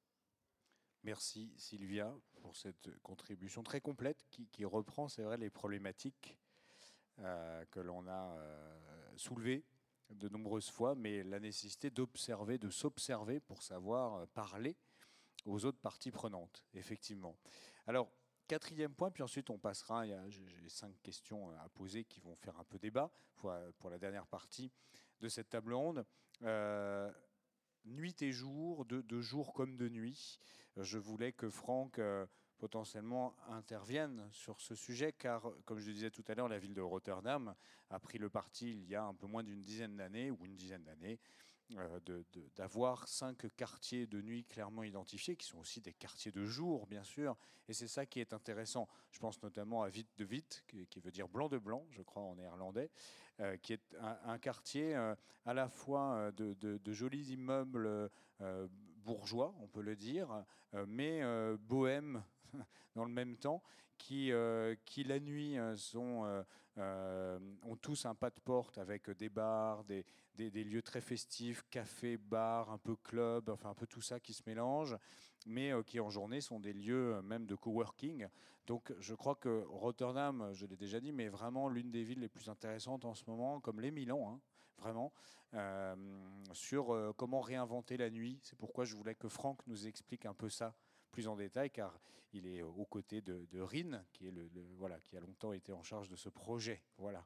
Merci Sylvia pour cette contribution très complète qui, qui reprend, c'est vrai, les problématiques euh, que l'on a euh, soulevées de nombreuses fois, mais la nécessité d'observer, de s'observer pour savoir parler aux autres parties prenantes, effectivement. Alors, quatrième point, puis ensuite on passera, j'ai cinq questions à poser qui vont faire un peu débat pour, pour la dernière partie de cette table ronde. Euh, nuit et jour, de, de jour comme de nuit. Je voulais que Franck euh, potentiellement intervienne sur ce sujet, car, comme je le disais tout à l'heure, la ville de Rotterdam a pris le parti il y a un peu moins d'une dizaine d'années, ou une dizaine d'années, euh, de, de, d'avoir cinq quartiers de nuit clairement identifiés, qui sont aussi des quartiers de jour, bien sûr. Et c'est ça qui est intéressant. Je pense notamment à Witte de Witte, qui, qui veut dire blanc de blanc, je crois, en néerlandais, euh, qui est un, un quartier euh, à la fois de, de, de jolis immeubles euh, bourgeois, on peut le dire, euh, mais euh, bohèmes dans le même temps, qui, euh, qui la nuit sont, euh, euh, ont tous un pas de porte avec des bars, des, des, des lieux très festifs, cafés, bars, un peu clubs, enfin un peu tout ça qui se mélange, mais euh, qui en journée sont des lieux euh, même de coworking. Donc je crois que Rotterdam, je l'ai déjà dit, mais vraiment l'une des villes les plus intéressantes en ce moment, comme les Milan, hein, vraiment, euh, sur euh, comment réinventer la nuit. C'est pourquoi je voulais que Franck nous explique un peu ça plus en détail, car il est aux côtés de, de Rin, qui, est le, le, voilà, qui a longtemps été en charge de ce projet. Voilà.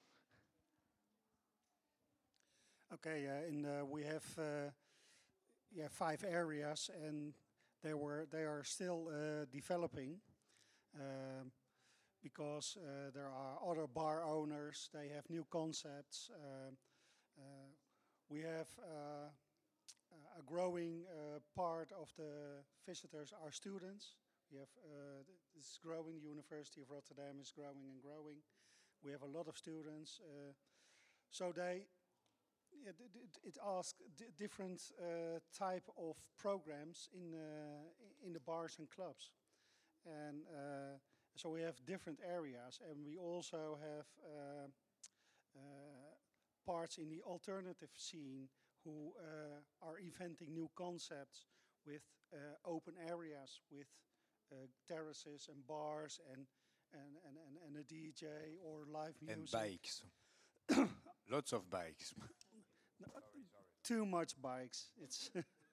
Okay, uh, in the, we have uh, yeah five areas, and they were they are still uh, developing um, because uh, there are other bar owners. They have new concepts. Uh, uh, we have uh, a growing uh, part of the visitors are students. We have uh, this growing. The University of Rotterdam is growing and growing. We have a lot of students, uh, so they. It, it, it asks d different uh, type of programs in uh, in the bars and clubs, and uh, so we have different areas, and we also have uh, uh, parts in the alternative scene who uh, are inventing new concepts with uh, open areas, with uh, terraces and bars and and, and, and and a D J or live music. And bikes. Lots of bikes. No, too much bikes. It's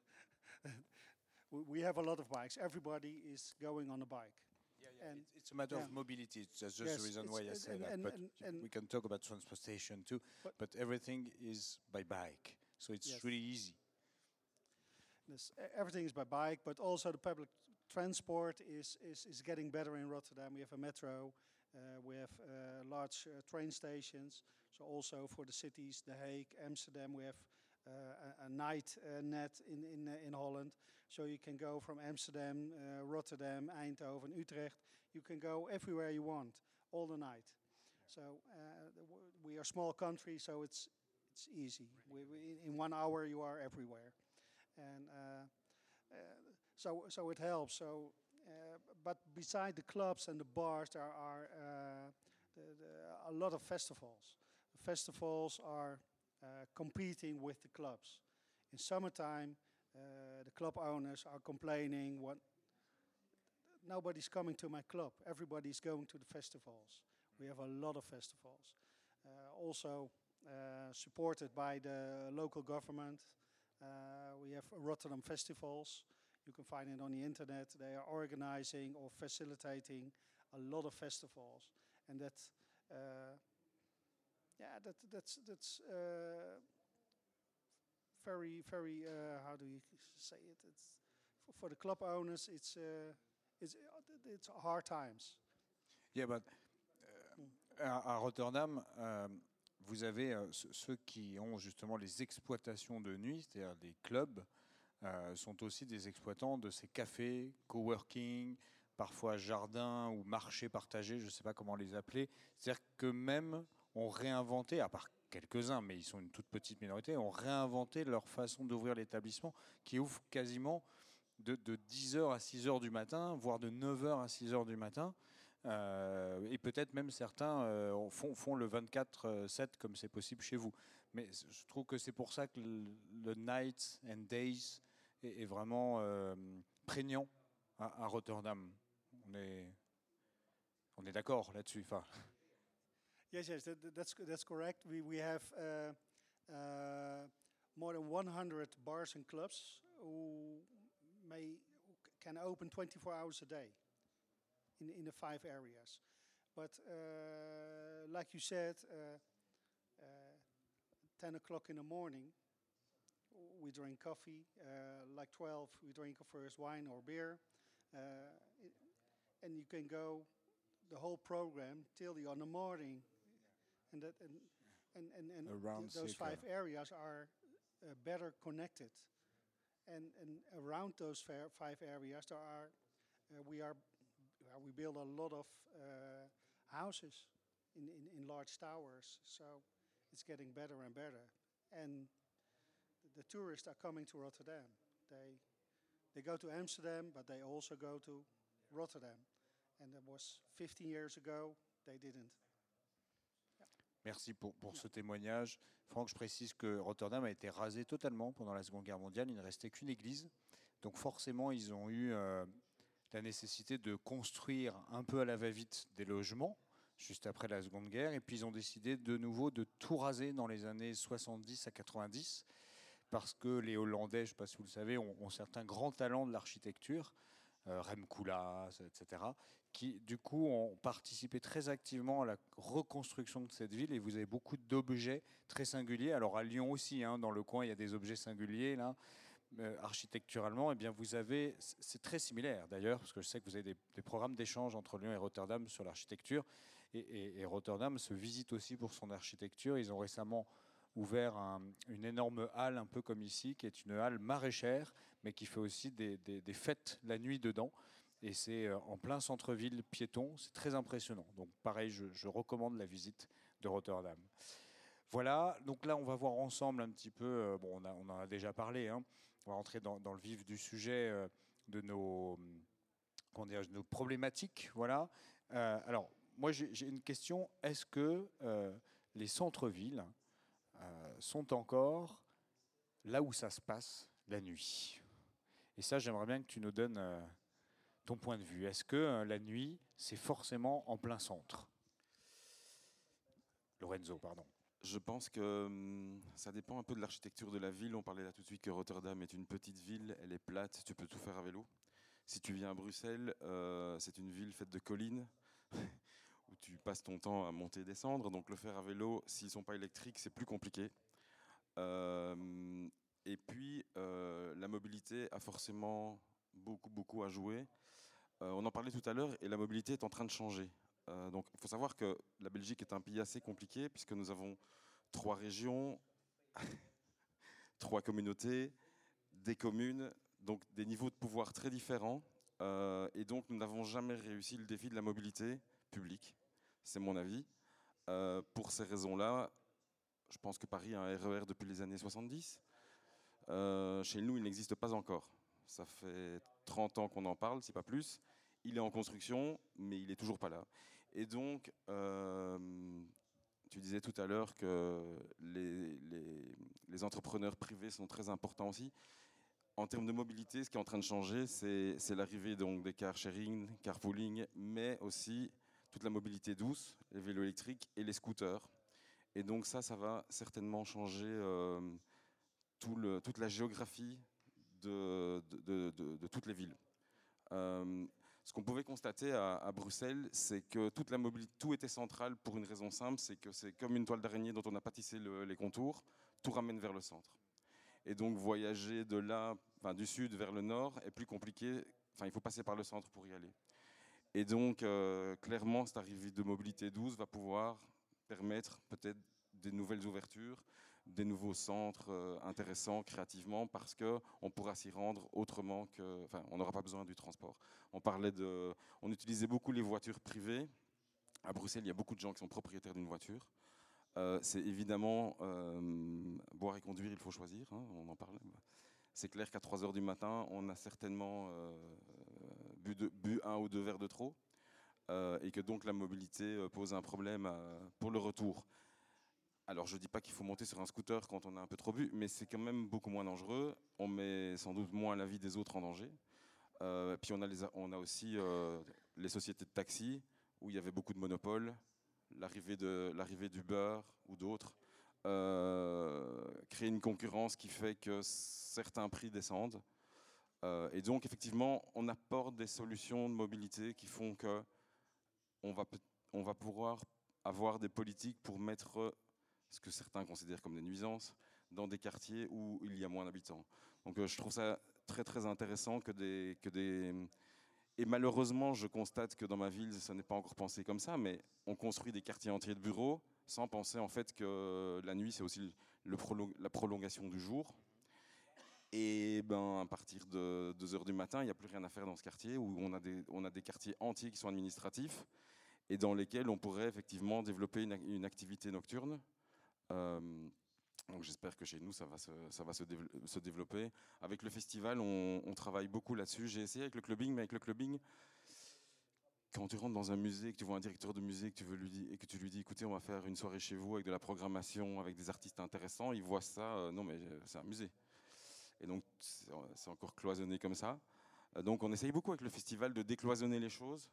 we have a lot of bikes. Everybody is going on a bike. Yeah, yeah. And it's, it's a matter yeah. of mobility. It's just yes, the reason why I say and, that. And, but and, and we can talk about transportation too. But, but everything is by bike, so it's yes. really easy. This, everything is by bike, but also the public transport is is, is getting better in Rotterdam. We have a metro. Uh, we have uh, large uh, train stations. So also for the cities, The Hague, Amsterdam, we have uh, a, a night uh, net in in uh, in Holland. So you can go from Amsterdam, uh, Rotterdam, Eindhoven, Utrecht. You can go everywhere you want, all the night. So uh, we are a small country, so it's it's easy. We, we, in one hour, you are everywhere, and uh, uh, so so it helps. So, uh, but beside the clubs and the bars, there are uh, the, the, a lot of festivals. Festivals are uh, competing with the clubs. In summertime, uh, the club owners are complaining, "What? Nobody's coming to my club. Everybody's going to the festivals." We have a lot of festivals. Uh, also uh, supported by the local government. Uh, we have Rotterdam festivals. You can find it on the internet. They are organizing or facilitating a lot of festivals, and that, uh, yeah, that that's that's uh, very very. Uh, how do you say it? It's for, for the club owners. It's uh, it's it's hard times. Yeah, but uh, à, à Rotterdam. Um, Vous avez euh, ceux qui ont justement les exploitations de nuit, c'est-à-dire des clubs, euh, sont aussi des exploitants de ces cafés, coworking, parfois jardins ou marchés partagés, je ne sais pas comment les appeler. C'est-à-dire qu'eux-mêmes ont réinventé, à part quelques-uns, mais ils sont une toute petite minorité, ont réinventé leur façon d'ouvrir l'établissement qui ouvre quasiment de, de dix heures à six heures du matin, voire de neuf heures à six heures du matin. Euh, et peut-être même certains euh, font, font le vingt-quatre sept comme c'est possible chez vous. Mais je trouve que c'est pour ça que le, le Nights and Days est, est vraiment euh, prégnant à, à Rotterdam. On est, on est d'accord là-dessus. Enfin. Yes, yes, that, that's that's correct. We we have uh, uh, more than one hundred bars and clubs who may can open twenty-four hours a day. In, in the five areas. But uh, like you said, uh, uh, ten o'clock in the morning, we drink coffee. Uh, like twelve, we drink our first wine or beer. Uh, it, and you can go the whole program till the on the morning. And that and and, and, and th those six, five yeah. areas are uh, better connected. And, and around those fair, five areas, there are uh, we are uh, we build a lot of uh, houses in, in, in large towers, so it's getting better and better. And the tourists are coming to Rotterdam. They they go to Amsterdam, but they also go to Rotterdam. And that was fifteen years ago. They didn't. Merci pour, pour ce témoignage. Franck, je précise que Rotterdam a été rasé totalement pendant la Seconde Guerre mondiale. Il ne restait qu'une église. Donc forcément, ils ont eu euh, la nécessité de construire un peu à la va-vite des logements, juste après la Seconde Guerre. Et puis ils ont décidé de nouveau de tout raser dans les années soixante-dix à quatre-vingt-dix, parce que les Hollandais, je ne sais pas si vous le savez, ont, ont certains grands talents de l'architecture, euh, Rem Koolhaas, et cetera, qui du coup ont participé très activement à la reconstruction de cette ville. Et vous avez beaucoup d'objets très singuliers. Alors à Lyon aussi, hein, dans le coin, il y a des objets singuliers là. Euh, architecturalement, eh bien, vous avez, c'est très similaire d'ailleurs, parce que je sais que vous avez des, des programmes d'échange entre Lyon et Rotterdam sur l'architecture, et, et, et Rotterdam se visite aussi pour son architecture. Ils ont récemment ouvert un, une énorme halle, un peu comme ici, qui est une halle maraîchère, mais qui fait aussi des, des, des fêtes la nuit dedans. Et c'est en plein centre-ville piéton, c'est très impressionnant. Donc pareil, je, je recommande la visite de Rotterdam. Voilà, donc là on va voir ensemble un petit peu, euh, bon on, a, on en a déjà parlé, hein. On va rentrer dans, dans le vif du sujet euh, de nos, comment dire, de nos problématiques. Voilà. Euh, alors moi j'ai, j'ai une question, est-ce que euh, les centres-villes euh, sont encore là où ça se passe la nuit? Et ça j'aimerais bien que tu nous donnes euh, ton point de vue. Est-ce que euh, la nuit c'est forcément en plein centre? Lorenzo, pardon. Je pense que hum, ça dépend un peu de l'architecture de la ville. On parlait là tout de suite que Rotterdam est une petite ville, elle est plate, tu peux tout faire à vélo. Si tu viens à Bruxelles, euh, c'est une ville faite de collines où tu passes ton temps à monter et descendre. Donc le faire à vélo, s'ils ne sont pas électriques, c'est plus compliqué. Euh, et puis, euh, la mobilité a forcément beaucoup, beaucoup à jouer. Euh, on en parlait tout à l'heure et la mobilité est en train de changer. Euh, donc, il faut savoir que la Belgique est un pays assez compliqué puisque nous avons trois régions, trois communautés, des communes, donc des niveaux de pouvoir très différents. Euh, et donc, nous n'avons jamais réussi le défi de la mobilité publique. C'est mon avis. Euh, pour ces raisons-là, je pense que Paris a un R E R depuis les années soixante-dix. Euh, chez nous, il n'existe pas encore. Ça fait trente ans qu'on en parle, si pas plus. Il est en construction, mais il n'est toujours pas là. Et donc, euh, tu disais tout à l'heure que les, les, les entrepreneurs privés sont très importants aussi. En termes de mobilité, ce qui est en train de changer, c'est, c'est l'arrivée donc, des car sharing, carpooling, mais aussi toute la mobilité douce, les vélos électriques et les scooters. Et donc ça, ça va certainement changer euh, tout le, toute la géographie de, de, de, de, de toutes les villes. Euh, ce qu'on pouvait constater à, à Bruxelles, c'est que toute la mobilité, tout était central pour une raison simple, c'est que c'est comme une toile d'araignée dont on n'a pas tissé le, les contours, tout ramène vers le centre. Et donc voyager de là, enfin, du sud vers le nord est plus compliqué, enfin, il faut passer par le centre pour y aller. Et donc euh, clairement, cette arrivée de mobilité douce va pouvoir permettre peut-être des nouvelles ouvertures, des nouveaux centres euh, intéressants créativement, parce qu'on pourra s'y rendre autrement que... Enfin, on n'aura pas besoin du transport. On parlait de... On utilisait beaucoup les voitures privées. À Bruxelles, il y a beaucoup de gens qui sont propriétaires d'une voiture. Euh, c'est évidemment... Euh, boire et conduire, il faut choisir, hein, on en parle. C'est clair qu'à trois heures du matin, on a certainement euh, bu, de, bu un ou deux verres de trop, euh, et que donc la mobilité pose un problème à, pour le retour. Alors je ne dis pas qu'il faut monter sur un scooter quand on a un peu trop bu, mais c'est quand même beaucoup moins dangereux. On met sans doute moins la vie des autres en danger. Euh, puis on a, les, on a aussi euh, les sociétés de taxi, où il y avait beaucoup de monopoles, l'arrivée, de, l'arrivée d'Uber ou d'autres, euh, créer une concurrence qui fait que certains prix descendent. Euh, et donc effectivement, on apporte des solutions de mobilité qui font qu'on va, on va pouvoir avoir des politiques pour mettre ce que certains considèrent comme des nuisances, dans des quartiers où il y a moins d'habitants. Donc euh, je trouve ça très très intéressant que des, que des... Et malheureusement, je constate que dans ma ville, ça n'est pas encore pensé comme ça, mais on construit des quartiers entiers de bureaux sans penser en fait que la nuit, c'est aussi le prolong- la prolongation du jour. Et ben, à partir de deux heures du matin, il n'y a plus rien à faire dans ce quartier où on a, des, on a des quartiers entiers qui sont administratifs et dans lesquels on pourrait effectivement développer une, une activité nocturne. Euh, donc j'espère que chez nous, ça va, se, ça va se, dév- se développer. Avec le festival, on, on travaille beaucoup là-dessus. J'ai essayé avec le clubbing, mais avec le clubbing, quand tu rentres dans un musée, que tu vois un directeur de musée que tu veux lui dire, et que tu lui dis, écoutez, on va faire une soirée chez vous avec de la programmation, avec des artistes intéressants, il voit ça, euh, non mais euh, c'est un musée. Et donc, c'est encore cloisonné comme ça. Donc, on essaye beaucoup avec le festival de décloisonner les choses,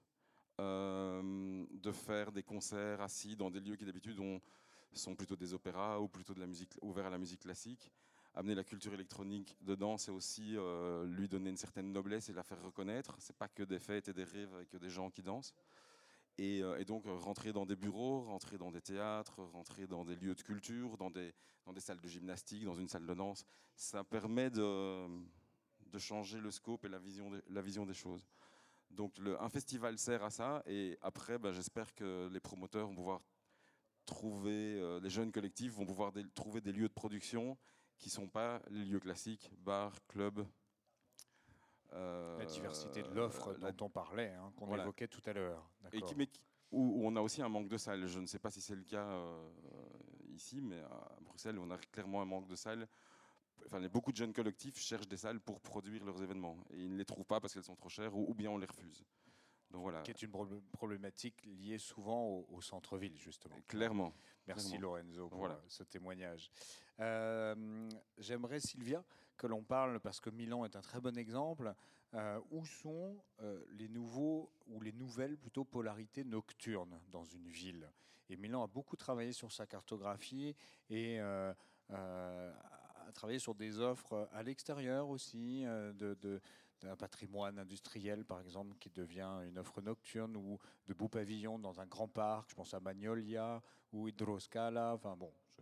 euh, de faire des concerts assis dans des lieux qui d'habitude sont plutôt des opéras ou plutôt de la musique, ouverts à la musique classique. Amener la culture électronique dedans, c'est aussi euh, lui donner une certaine noblesse et la faire reconnaître. C'est pas que des fêtes et des rêves avec des gens qui dansent. Et, euh, et donc rentrer dans des bureaux, rentrer dans des théâtres, rentrer dans des lieux de culture, dans des, dans des salles de gymnastique, dans une salle de danse, ça permet de, de changer le scope et la vision, de, la vision des choses. Donc le, un festival sert à ça et après ben, j'espère que les promoteurs vont pouvoir trouver, euh, les jeunes collectifs vont pouvoir des, trouver des lieux de production qui ne sont pas les lieux classiques, bars, clubs. Euh, la diversité de l'offre dont la... on parlait, hein, qu'on voilà. évoquait tout à l'heure. Et qui, mais, où, où on a aussi un manque de salles. Je ne sais pas si c'est le cas euh, ici, mais à Bruxelles, on a clairement un manque de salles. Enfin, beaucoup de jeunes collectifs cherchent des salles pour produire leurs événements. Et ils ne les trouvent pas parce qu'elles sont trop chères ou, ou bien on les refuse. Donc, voilà. Qui est une problématique liée souvent au, au centre-ville, justement. Clairement. Merci clairement. Lorenzo pour voilà. ce témoignage. Euh, J'aimerais, Sylvia, que l'on parle, parce que Milan est un très bon exemple, euh, où sont euh, les nouveaux, ou les nouvelles plutôt polarités nocturnes dans une ville. Et Milan a beaucoup travaillé sur sa cartographie et euh, euh, a travaillé sur des offres à l'extérieur aussi, euh, de, de d'un patrimoine industriel, par exemple, qui devient une offre nocturne, ou de beaux pavillons dans un grand parc, je pense à Magnolia ou Hydroscala, enfin bon. Je...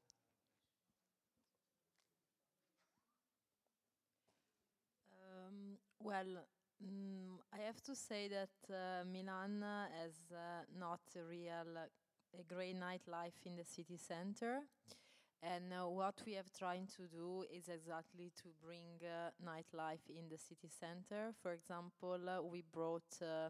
Um, well, mm, I have to say that uh, Milan has uh, not a real, a great nightlife in the city center. And uh, what we have tried to do is exactly to bring uh, nightlife in the city center. For example, uh, we brought uh,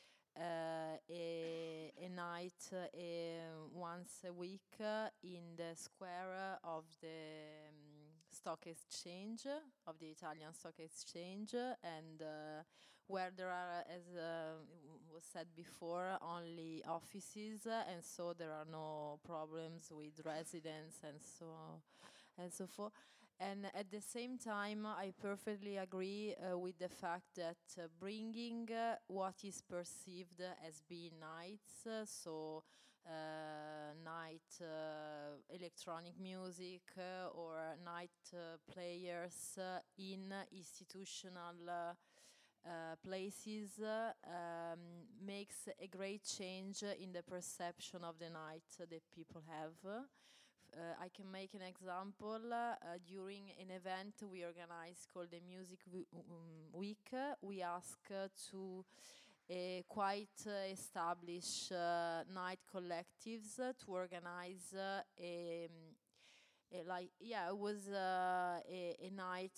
uh, a, a night uh, a, once a week uh, in the square of the um, stock exchange, of the Italian stock exchange, and uh, where there are, as uh, was said before, only offices, uh, and so there are no problems with residents and so and so forth. And at the same time, I perfectly agree uh, with the fact that uh, bringing uh, what is perceived as being nights, uh, so uh, night uh, electronic music uh, or night uh, players uh, in institutional uh, Uh, places uh, um, makes a great change in the perception of the night that people have. Uh, I can make an example. Uh, during an event we organized called the Music Week, uh, we asked uh, to uh, quite uh, established uh, night collectives uh, to organize uh, a, a like yeah it was uh, a, a night.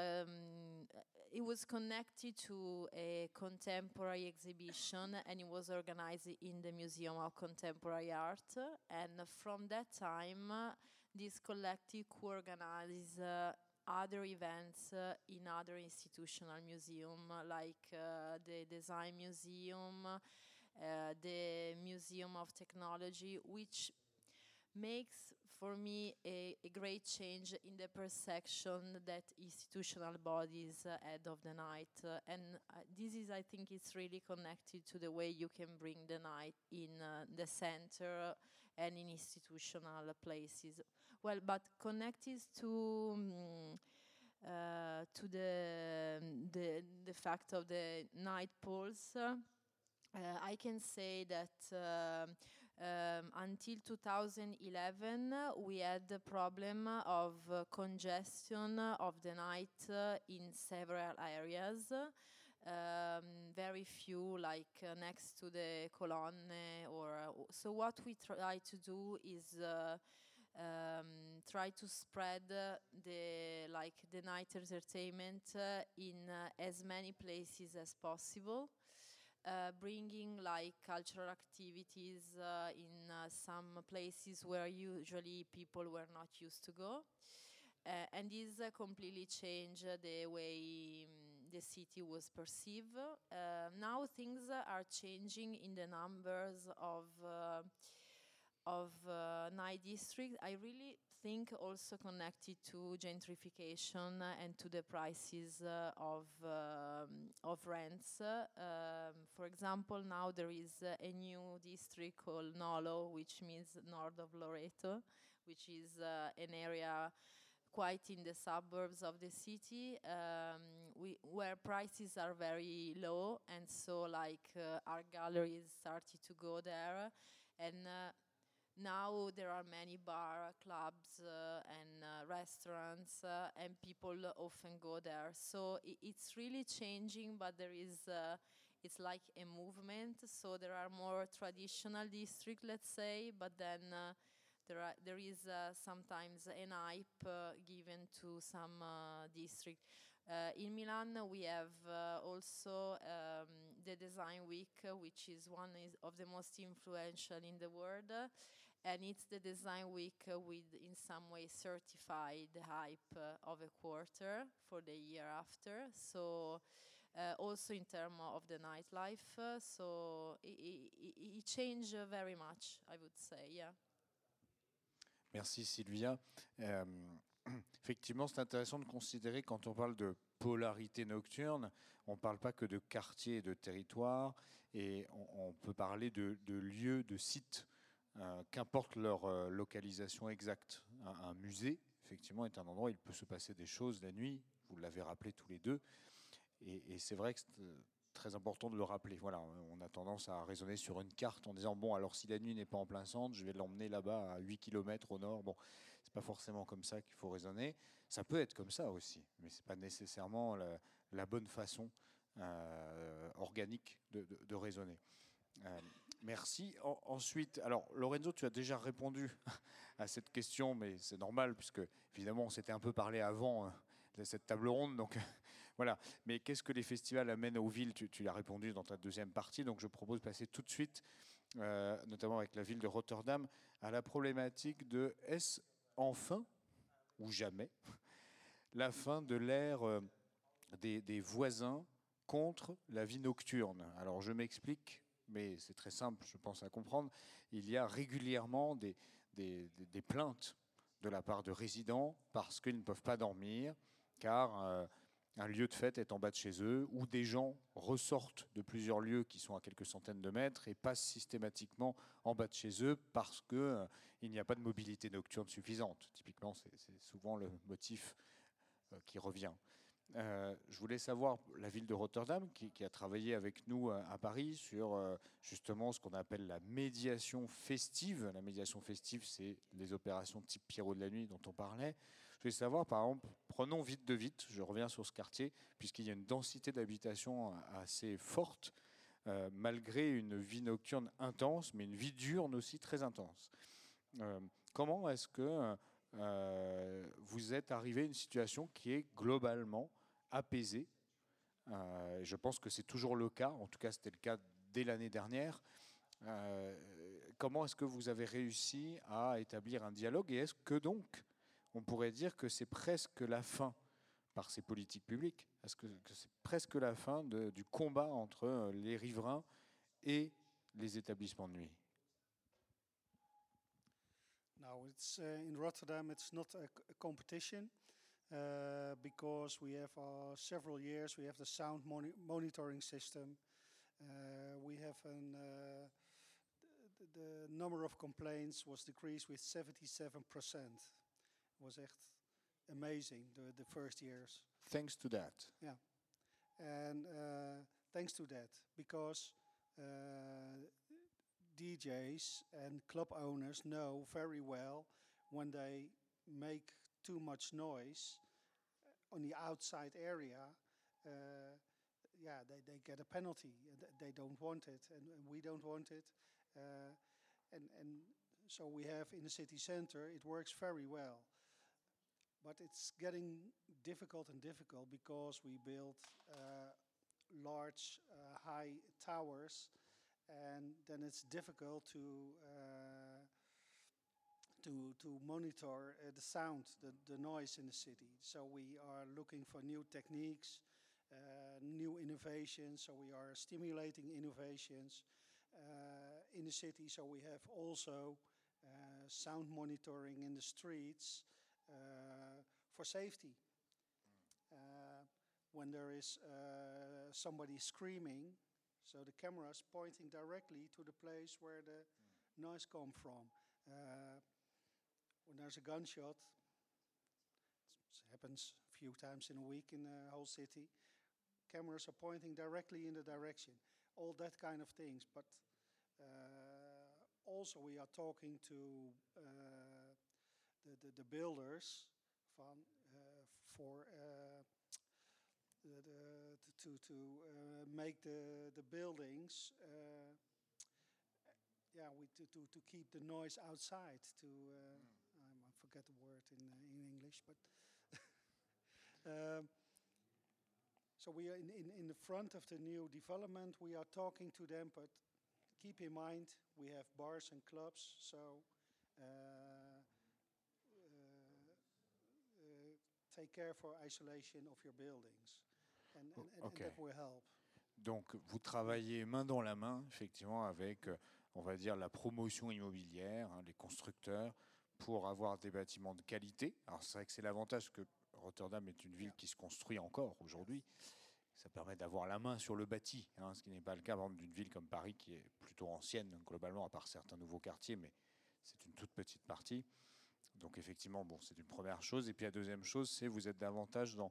Um, It was connected to a contemporary exhibition, and it was organized in the Museum of Contemporary Art. And from that time, uh, this collective could organize uh, other events uh, in other institutional museums, like uh, the Design Museum, uh, the Museum of Technology, which makes for me a, a great change in the perception that institutional bodies uh, had of the night. Uh, and uh, this is, I think, it's really connected to the way you can bring the night in uh, the center and in institutional places. Well, but connected to um, uh, to the, the the fact of the night polls, uh, uh, I can say that uh, Um, until two thousand eleven, uh, we had the problem of uh, congestion of the night uh, in several areas. Um, very few, like uh, next to the colonne, or uh, so. What we try to do is uh, um, try to spread uh, the like the night entertainment uh, in uh, as many places as possible. Uh, bringing like cultural activities uh, in uh, some places where usually people were not used to go. Uh, and this uh, completely changed uh, the way um, the city was perceived. Uh, now things uh, are changing in the numbers of uh, of uh, night district. I really think also connected to gentrification uh, and to the prices uh, of um, of rents. Uh, um, for example, now there is uh, a new district called Nolo, which means north of Loreto, which is uh, an area quite in the suburbs of the city, um, we, where prices are very low, and so like uh, art galleries started to go there, and uh, now there are many bar, clubs, uh, and uh, restaurants, uh, and people often go there. So I it's really changing, but there is, uh, it's like a movement. So there are more traditional districts, let's say, but then uh, there are there is uh, sometimes an hype uh, given to some uh, district. Uh, in Milan, we have uh, also um, the Design Week, uh, which is one is of the most influential in the world. Uh, and it's the Design Week uh, with, in some way, certified hype uh, of a quarter for the year after. So uh, also in terms of the nightlife, uh, so it, it, it changed uh, very much, I would say, yeah. Merci Sylvia. Euh, effectivement, c'est intéressant de considérer quand on parle de polarité nocturne, on ne parle pas que de quartier et de territoire, et on, on peut parler de, de lieux, de sites, euh, qu'importe leur euh, localisation exacte. Un, un musée, effectivement, est un endroit où il peut se passer des choses la nuit, vous l'avez rappelé tous les deux, et, et c'est vrai que c'est très important de le rappeler. Voilà, on a tendance à raisonner sur une carte en disant bon, alors si la nuit n'est pas en plein centre, je vais l'emmener là-bas à huit kilomètres au nord. Bon, c'est pas forcément comme ça qu'il faut raisonner. Ça peut être comme ça aussi, mais c'est pas nécessairement la, la bonne façon euh, organique de, de, de raisonner. Euh, merci. En, ensuite, alors Lorenzo, tu as déjà répondu à cette question, mais c'est normal puisque évidemment on s'était un peu parlé avant euh, de cette table ronde, donc voilà. Mais qu'est-ce que les festivals amènent aux villes? Tu, tu l'as répondu dans ta deuxième partie, donc je propose de passer tout de suite, euh, notamment avec la ville de Rotterdam, à la problématique de est-ce enfin ou jamais la fin de l'ère euh, des, des voisins contre la vie nocturne. Alors je m'explique, mais c'est très simple, je pense à comprendre. Il y a régulièrement des, des, des, des plaintes de la part de résidents parce qu'ils ne peuvent pas dormir, car euh, un lieu de fête est en bas de chez eux, ou des gens ressortent de plusieurs lieux qui sont à quelques centaines de mètres et passent systématiquement en bas de chez eux parce qu'il euh, n'y a pas de mobilité nocturne suffisante. Typiquement, c'est, c'est souvent le motif euh, qui revient. Euh, je voulais savoir, la ville de Rotterdam, qui, qui a travaillé avec nous à, à Paris sur euh, justement ce qu'on appelle la médiation festive. La médiation festive, c'est les opérations type Pierrot de la nuit dont on parlait. Je voulais savoir, par exemple, prenons Vite de Vite, je reviens sur ce quartier, puisqu'il y a une densité d'habitation assez forte, euh, malgré une vie nocturne intense, mais une vie diurne aussi très intense. Euh, comment est-ce que euh, vous êtes arrivé à une situation qui est globalement apaisée? euh, Je pense que c'est toujours le cas, en tout cas c'était le cas dès l'année dernière. Euh, comment est-ce que vous avez réussi à établir un dialogue, et est-ce que donc on pourrait dire que c'est presque la fin, par ces politiques publiques, est-ce que, que c'est presque la fin de, du combat entre les riverains et les établissements de nuit? Now, it's uh, in Rotterdam. It's not a, c- a competition uh, because we have uh, several years. We have the sound moni- monitoring system. Uh, we have an uh, the, the number of complaints was decreased with seventy-seven percent. Was echt amazing the, the first years. Thanks to that. Yeah, and uh, thanks to that, because uh, D Js and club owners know very well when they make too much noise on the outside area. Uh, yeah, they, they get a penalty. They don't want it, and, and we don't want it. Uh, and and so we have in the city center, it works very well. But it's getting difficult and difficult because we build uh, large, uh, high towers, and then it's difficult to uh, to to monitor uh, the sound, the, the noise in the city. So we are looking for new techniques, uh, new innovations. So we are stimulating innovations uh, in the city. So we have also uh, sound monitoring in the streets. Uh, for safety. Uh, when there is uh, somebody screaming, so the camera is pointing directly to the place where the mm. noise comes from. Uh, when there's a gunshot, it happens a few times in a week in the whole city, cameras are pointing directly in the direction. All that kind of things. But uh, also we are talking to uh, The, the, the builders van, uh, for uh, the, the, to, to uh, make the, the buildings, uh, yeah, we to, to, to keep the noise outside. To uh, mm. I forget the word in uh, in English, but um, so we are in, in in the front of the new development. We are talking to them, but keep in mind we have bars and clubs, so. Uh, Take care for isolation of your buildings, and, and, and, okay. and that will help. Donc, vous travaillez main dans la main, effectivement, avec, euh, on va dire, la promotion immobilière, hein, les constructeurs, pour avoir des bâtiments de qualité. Alors, c'est vrai que c'est l'avantage que Rotterdam est une ville yeah. qui se construit encore aujourd'hui. Ça permet d'avoir la main sur le bâti, hein, ce qui n'est pas le cas, par exemple, d'une ville comme Paris, qui est plutôt ancienne, globalement, à part certains nouveaux quartiers, mais c'est une toute petite partie. Donc effectivement, bon, c'est une première chose. Et puis la deuxième chose, c'est vous êtes davantage dans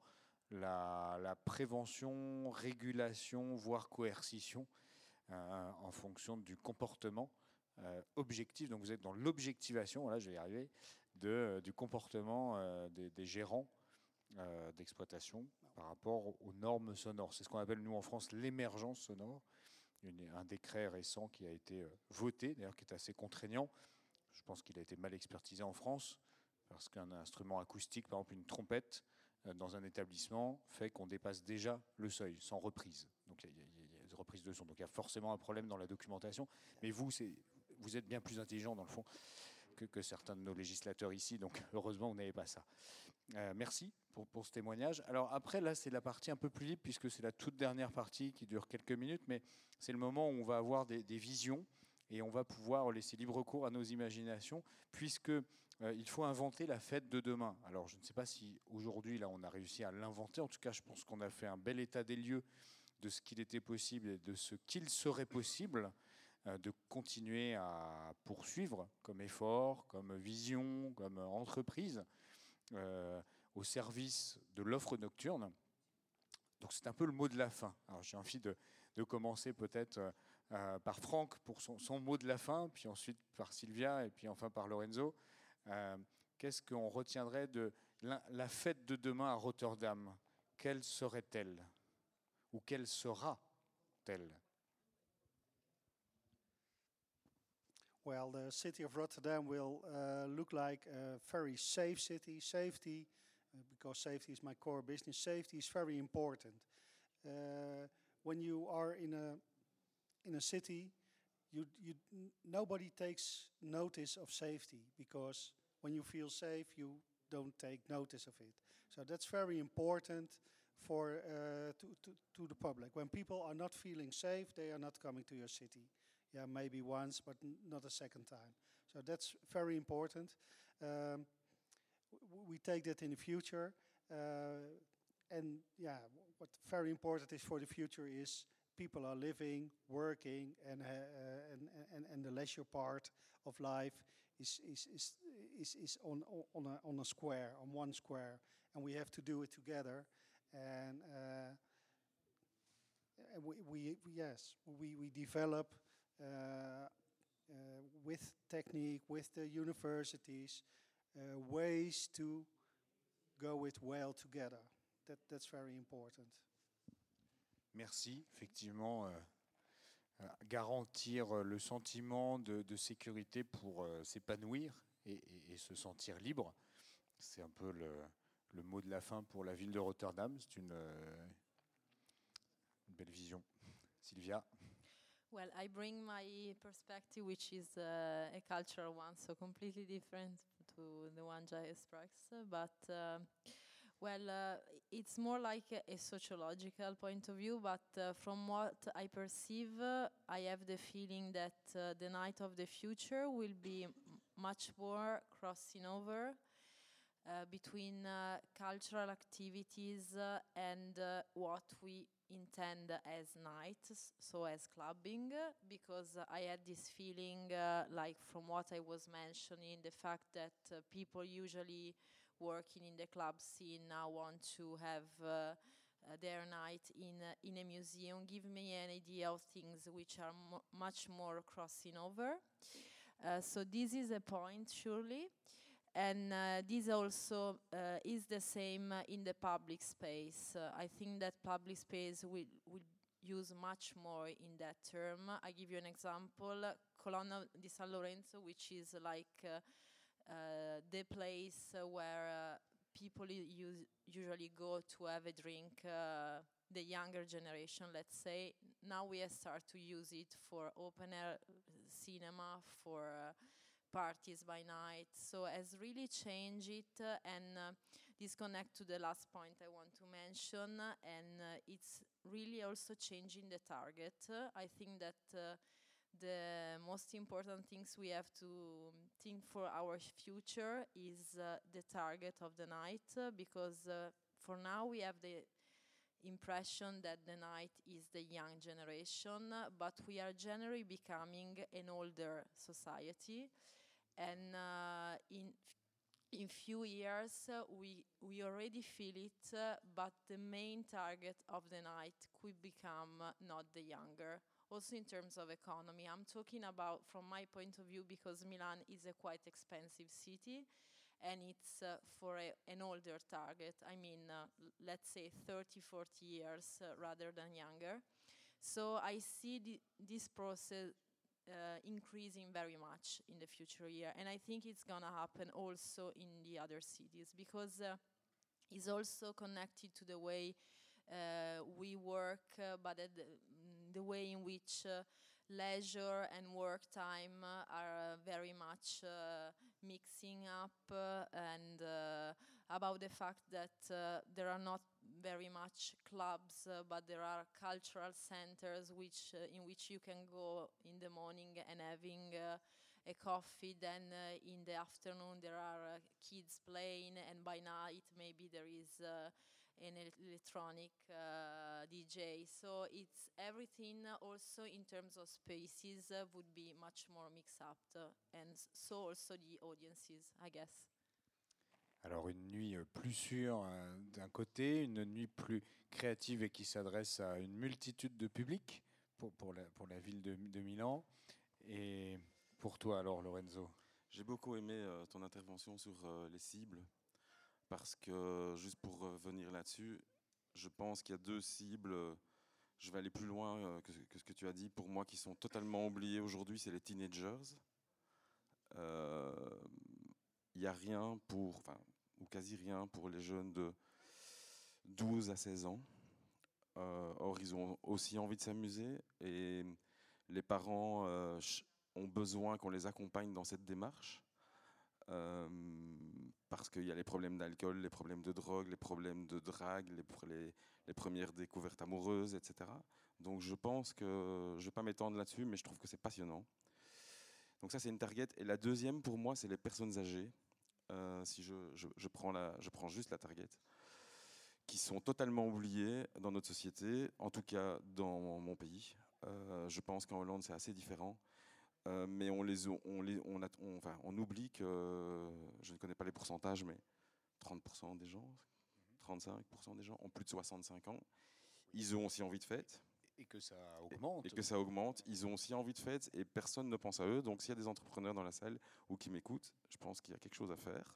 la, la prévention, régulation, voire coercition euh, en fonction du comportement euh, objectif. Donc vous êtes dans l'objectivation, voilà, je vais y arriver, de, euh, du comportement euh, des, des gérants euh, d'exploitation par rapport aux normes sonores. C'est ce qu'on appelle nous en France l'émergence sonore. Une, un décret récent qui a été euh, voté, d'ailleurs qui est assez contraignant. Je pense qu'il a été mal expertisé en France, parce qu'un instrument acoustique, par exemple une trompette, euh, dans un établissement, fait qu'on dépasse déjà le seuil, sans reprise. Donc il y, y, y a des reprises de son. Donc il y a forcément un problème dans la documentation. Mais vous, vous êtes bien plus intelligent, dans le fond, que, que certains de nos législateurs ici. Donc heureusement, vous n'avez pas ça. Euh, merci pour, pour ce témoignage. Alors après, là, c'est la partie un peu plus libre, puisque c'est la toute dernière partie qui dure quelques minutes, mais c'est le moment où on va avoir des, des visions. Et on va pouvoir laisser libre cours à nos imaginations, puisque euh, il faut inventer la fête de demain. Alors, je ne sais pas si aujourd'hui, là, on a réussi à l'inventer. En tout cas, je pense qu'on a fait un bel état des lieux de ce qu'il était possible et de ce qu'il serait possible euh, de continuer à poursuivre comme effort, comme vision, comme entreprise euh, au service de l'offre nocturne. Donc, c'est un peu le mot de la fin. Alors, j'ai envie de, de commencer peut-être... Euh, Euh, par Franck pour son, son mot de la fin, puis ensuite par Sylvia, et puis enfin par Lorenzo. Euh, Qu'est-ce qu'on retiendrait de la, la fête de demain à Rotterdam? Quelle serait-elle? Ou quelle sera-t-elle? Well, the city of Rotterdam will uh, look like a very safe city. Safety, uh, because safety is my core business, safety is very important. Uh, when you are in a in a city, you, you, nobody takes notice of safety, because when you feel safe, you don't take notice of it. So that's very important for uh, to, to, to the public. When people are not feeling safe, they are not coming to your city. Yeah, maybe once, but n not a second time. So that's very important. Um, we take that in the future. Uh, and yeah, what very important is for the future is people are living, working, and uh, and, and and the leisure part of life is is is is, is on on a on a square, on one square, and we have to do it together. And uh, we, we yes we we develop uh, uh, with technique, with the universities, uh, ways to go it well together. That that's very important. Merci, effectivement, euh, euh, garantir le sentiment de, de sécurité pour euh, s'épanouir et, et, et se sentir libre. C'est un peu le, le mot de la fin pour la ville de Rotterdam. C'est une, euh, une belle vision. Sylvia? Well, I bring my perspective, which is uh, a cultural one, so completely different to the one Jai expressed. But uh, well, uh, it's more like a, a sociological point of view. But uh, from what I perceive, uh, I have the feeling that uh, the night of the future will be m- much more crossing over uh, between uh, cultural activities uh, and uh, what we intend as nights, so as clubbing, uh, because uh, I had this feeling, uh, like from what I was mentioning, the fact that uh, people usually working in the club scene now want to have uh, uh, their night in uh, in a museum. Give me an idea of things which are mo- much more crossing over. Uh, so this is a point, surely. And uh, this also uh, is the same uh, in the public space. Uh, I think that public space will, will use much more in that term. I give you an example, Colonna di San Lorenzo, which is like uh, uh, the place uh, where uh, people use, usually go to have a drink, uh, the younger generation, let's say. Now we have started to use it for open air cinema, for uh, parties by night, so has really changed it, uh, and uh, this connect to the last point I want to mention, uh, and uh, it's really also changing the target. Uh, I think that uh, the most important things we have to think for our future is uh, the target of the night, uh, because uh, for now we have the impression that the night is the young generation, uh, but we are generally becoming an older society. And uh, in in few years uh, we we already feel it, uh, but the main target of the night could become uh, not the younger. Also in terms of economy, I'm talking about from my point of view, because Milan is a quite expensive city, and it's uh, for a, an older target. I mean, uh, l- let's say thirty, forty years uh, rather than younger. So I see the, this process uh, increasing very much in the future year, and I think it's gonna happen also in the other cities, because uh, it's also connected to the way uh, we work, uh, but at the, mm, the way in which uh, leisure and work time uh, are uh, very much uh, mixing up, uh, and uh, about the fact that uh, there are not very much clubs, uh, but there are cultural centers which uh, in which you can go in the morning and having uh, a coffee, then uh, in the afternoon there are uh, kids playing, and by night maybe there is uh, an el- electronic uh, D J. So it's everything, uh, also in terms of spaces, uh, would be much more mixed up, uh, and s- so also the audiences, I guess. Alors une nuit euh, plus sûre euh, d'un côté, une nuit plus créative et qui s'adresse à une multitude de publics pour, pour, la, pour la ville de, de Milan. Et pour toi alors, Lorenzo? J'ai beaucoup aimé euh, ton intervention sur euh, les cibles, parce que, juste pour revenir là-dessus, je pense qu'il y a deux cibles, euh, je vais aller plus loin euh, que, que ce que tu as dit, pour moi, qui sont totalement oubliés aujourd'hui, c'est les teenagers. Euh, Il n'y a rien pour, enfin, ou quasi rien pour les jeunes de douze à seize ans. Euh, or, ils ont aussi envie de s'amuser, et les parents euh, ch- ont besoin qu'on les accompagne dans cette démarche, euh, parce qu'il y a les problèmes d'alcool, les problèmes de drogue, les problèmes de drague, les, pr- les, les premières découvertes amoureuses, et cetera. Donc je pense que, je ne vais pas m'étendre là-dessus, mais je trouve que c'est passionnant. Donc ça, c'est une target. Et la deuxième, pour moi, c'est les personnes âgées. Euh, si je, je, je, prends la, je prends juste la target, qui sont totalement oubliées dans notre société, en tout cas dans mon pays. Euh, je pense qu'en Hollande, c'est assez différent. Euh, mais on, les, on, les, on, a, on, enfin, on oublie que, je ne connais pas les pourcentages, mais trente pour cent des gens, trente-cinq pour cent des gens ont plus de soixante-cinq ans. Ils ont aussi envie de fête. Et que ça augmente. Et, et que ça augmente. Ils ont aussi envie de fête, et personne ne pense à eux. Donc s'il y a des entrepreneurs dans la salle ou qui m'écoutent, je pense qu'il y a quelque chose à faire.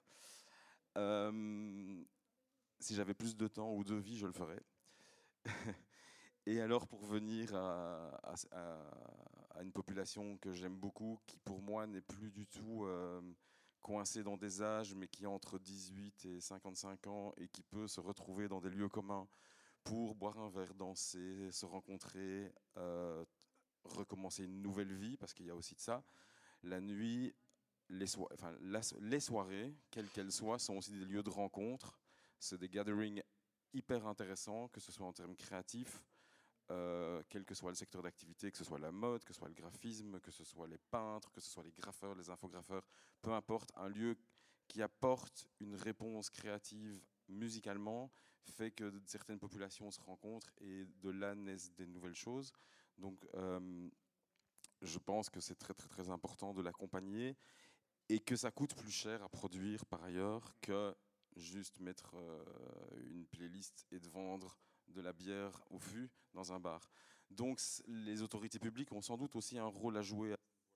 Euh, si j'avais plus de temps ou de vie, je le ferais. Et alors, pour venir à, à, à, à une population que j'aime beaucoup, qui pour moi n'est plus du tout euh, coincée dans des âges, mais qui a entre dix-huit et cinquante-cinq ans et qui peut se retrouver dans des lieux communs pour boire un verre, danser, se rencontrer, euh, recommencer une nouvelle vie, parce qu'il y a aussi de ça. La nuit, les, so enfin, la, les soirées, quelles qu'elles soient, sont aussi des lieux de rencontre. C'est des gatherings hyper intéressants, que ce soit en termes créatifs, euh, quel que soit le secteur d'activité, que ce soit la mode, que ce soit le graphisme, que ce soit les peintres, que ce soit les graffeurs, les infographeurs, peu importe, un lieu qui apporte une réponse créative musicalement fait que certaines populations se rencontrent et de là naissent des nouvelles choses. Donc, euh, je pense que c'est très très très important de l'accompagner et que ça coûte plus cher à produire par ailleurs que juste mettre euh, une playlist et de vendre de la bière au fût dans un bar. Donc les autorités publiques ont sans doute aussi un rôle à jouer.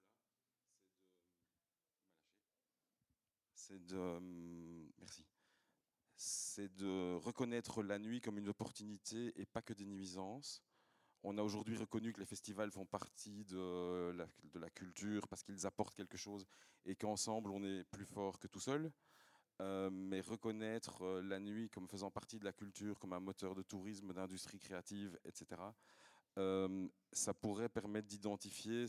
C'est de, euh, merci. C'est de reconnaître la nuit comme une opportunité et pas que des nuisances. On a aujourd'hui reconnu que les festivals font partie de la, de la culture parce qu'ils apportent quelque chose et qu'ensemble on est plus fort que tout seul. Euh, mais reconnaître euh, la nuit comme faisant partie de la culture, comme un moteur de tourisme, d'industrie créative, et cetera, euh, ça pourrait permettre d'identifier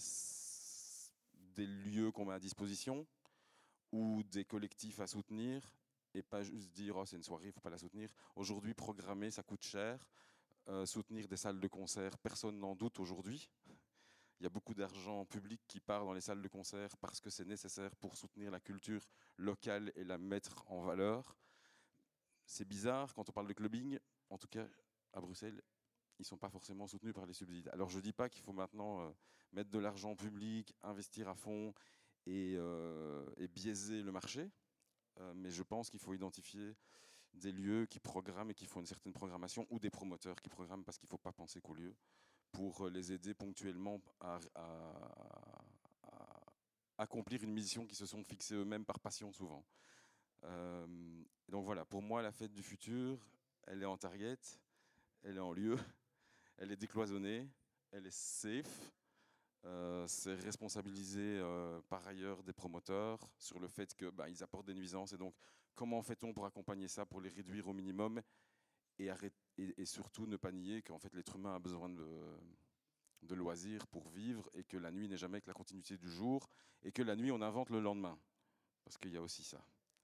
des lieux qu'on met à disposition ou des collectifs à soutenir et pas juste dire oh, c'est une soirée, il ne faut pas la soutenir. Aujourd'hui, programmer, ça coûte cher. Euh, soutenir des salles de concert, personne n'en doute aujourd'hui. Il y a beaucoup d'argent public qui part dans les salles de concert parce que c'est nécessaire pour soutenir la culture locale et la mettre en valeur. C'est bizarre quand on parle de clubbing, en tout cas à Bruxelles, ils ne sont pas forcément soutenus par les subsides. Alors je ne dis pas qu'il faut maintenant euh, mettre de l'argent public, investir à fond et, euh, et biaiser le marché, euh, mais je pense qu'il faut identifier des lieux qui programment et qui font une certaine programmation ou des promoteurs qui programment parce qu'il ne faut pas penser qu'aux lieux pour les aider ponctuellement à, à, à accomplir une mission qu'ils se sont fixés eux-mêmes par passion souvent. Euh, donc voilà, pour moi la fête du futur, elle est en target, elle est en lieu, elle est décloisonnée, elle est safe. Euh, c'est responsabiliser euh, par ailleurs des promoteurs sur le fait qu'ils bah, apportent des nuisances et donc comment fait-on pour accompagner ça, pour les réduire au minimum et, arrêter, et, et surtout ne pas nier qu'en fait l'être humain a besoin de, de loisirs pour vivre et que la nuit n'est jamais que la continuité du jour et que la nuit on invente le lendemain parce qu'il y a aussi ça.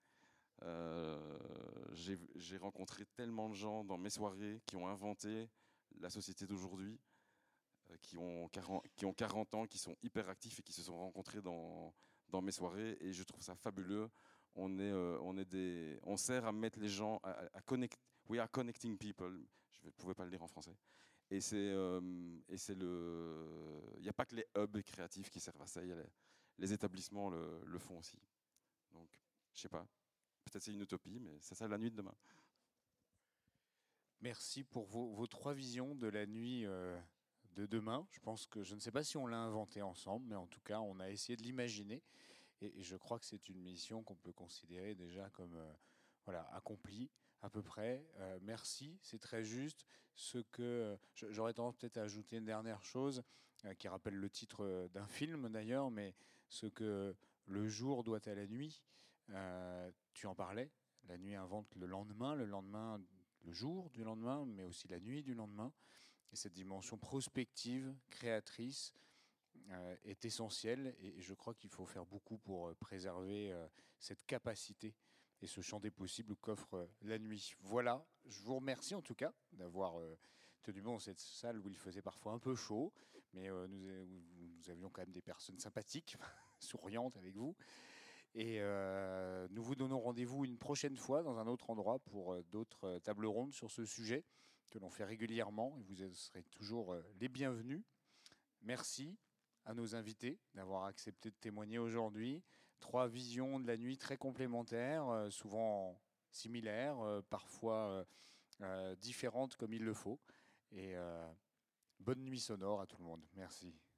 Euh, j'ai, j'ai rencontré tellement de gens dans mes soirées qui ont inventé la société d'aujourd'hui, euh, qui ont quarante, qui ont quarante ans, qui sont hyper actifs et qui se sont rencontrés dans, dans mes soirées et je trouve ça fabuleux. On est, euh, on est des, on sert à mettre les gens, à, à connect, we are connecting people. Je ne pouvais pas le dire en français. Et c'est, euh, et c'est le, il n'y a pas que les hubs créatifs qui servent à ça. Il y a les, les établissements le, le font aussi. Donc, je sais pas. Peut-être c'est une utopie, mais c'est ça la nuit de demain. Merci pour vos, vos trois visions de la nuit euh, de demain. Je pense que je ne sais pas si on l'a inventé ensemble, mais en tout cas, on a essayé de l'imaginer. Et, et je crois que c'est une mission qu'on peut considérer déjà comme euh, voilà, accomplie à peu près. Euh, merci, c'est très juste. Ce que j'aurais tendance peut-être à ajouter une dernière chose euh, qui rappelle le titre d'un film d'ailleurs, mais ce que le jour doit à la nuit. Euh, tu en parlais. La nuit invente le lendemain, le lendemain, le jour du lendemain, mais aussi la nuit du lendemain. Et cette dimension prospective, créatrice, euh, est essentielle. Et je crois qu'il faut faire beaucoup pour préserver euh, cette capacité et ce champ des possibles qu'offre euh, la nuit. Voilà, je vous remercie en tout cas d'avoir euh, tenu bon dans cette salle où il faisait parfois un peu chaud, mais euh, nous, nous avions quand même des personnes sympathiques, souriantes avec vous. Et euh, nous vous donnons rendez-vous une prochaine fois dans un autre endroit pour euh, d'autres tables rondes sur ce sujet que l'on fait régulièrement. Et vous serez toujours euh, les bienvenus. Merci à nos invités d'avoir accepté de témoigner aujourd'hui. Trois visions de la nuit très complémentaires, euh, souvent similaires, euh, parfois euh, euh, différentes comme il le faut. Et euh, bonne nuit sonore à tout le monde. Merci.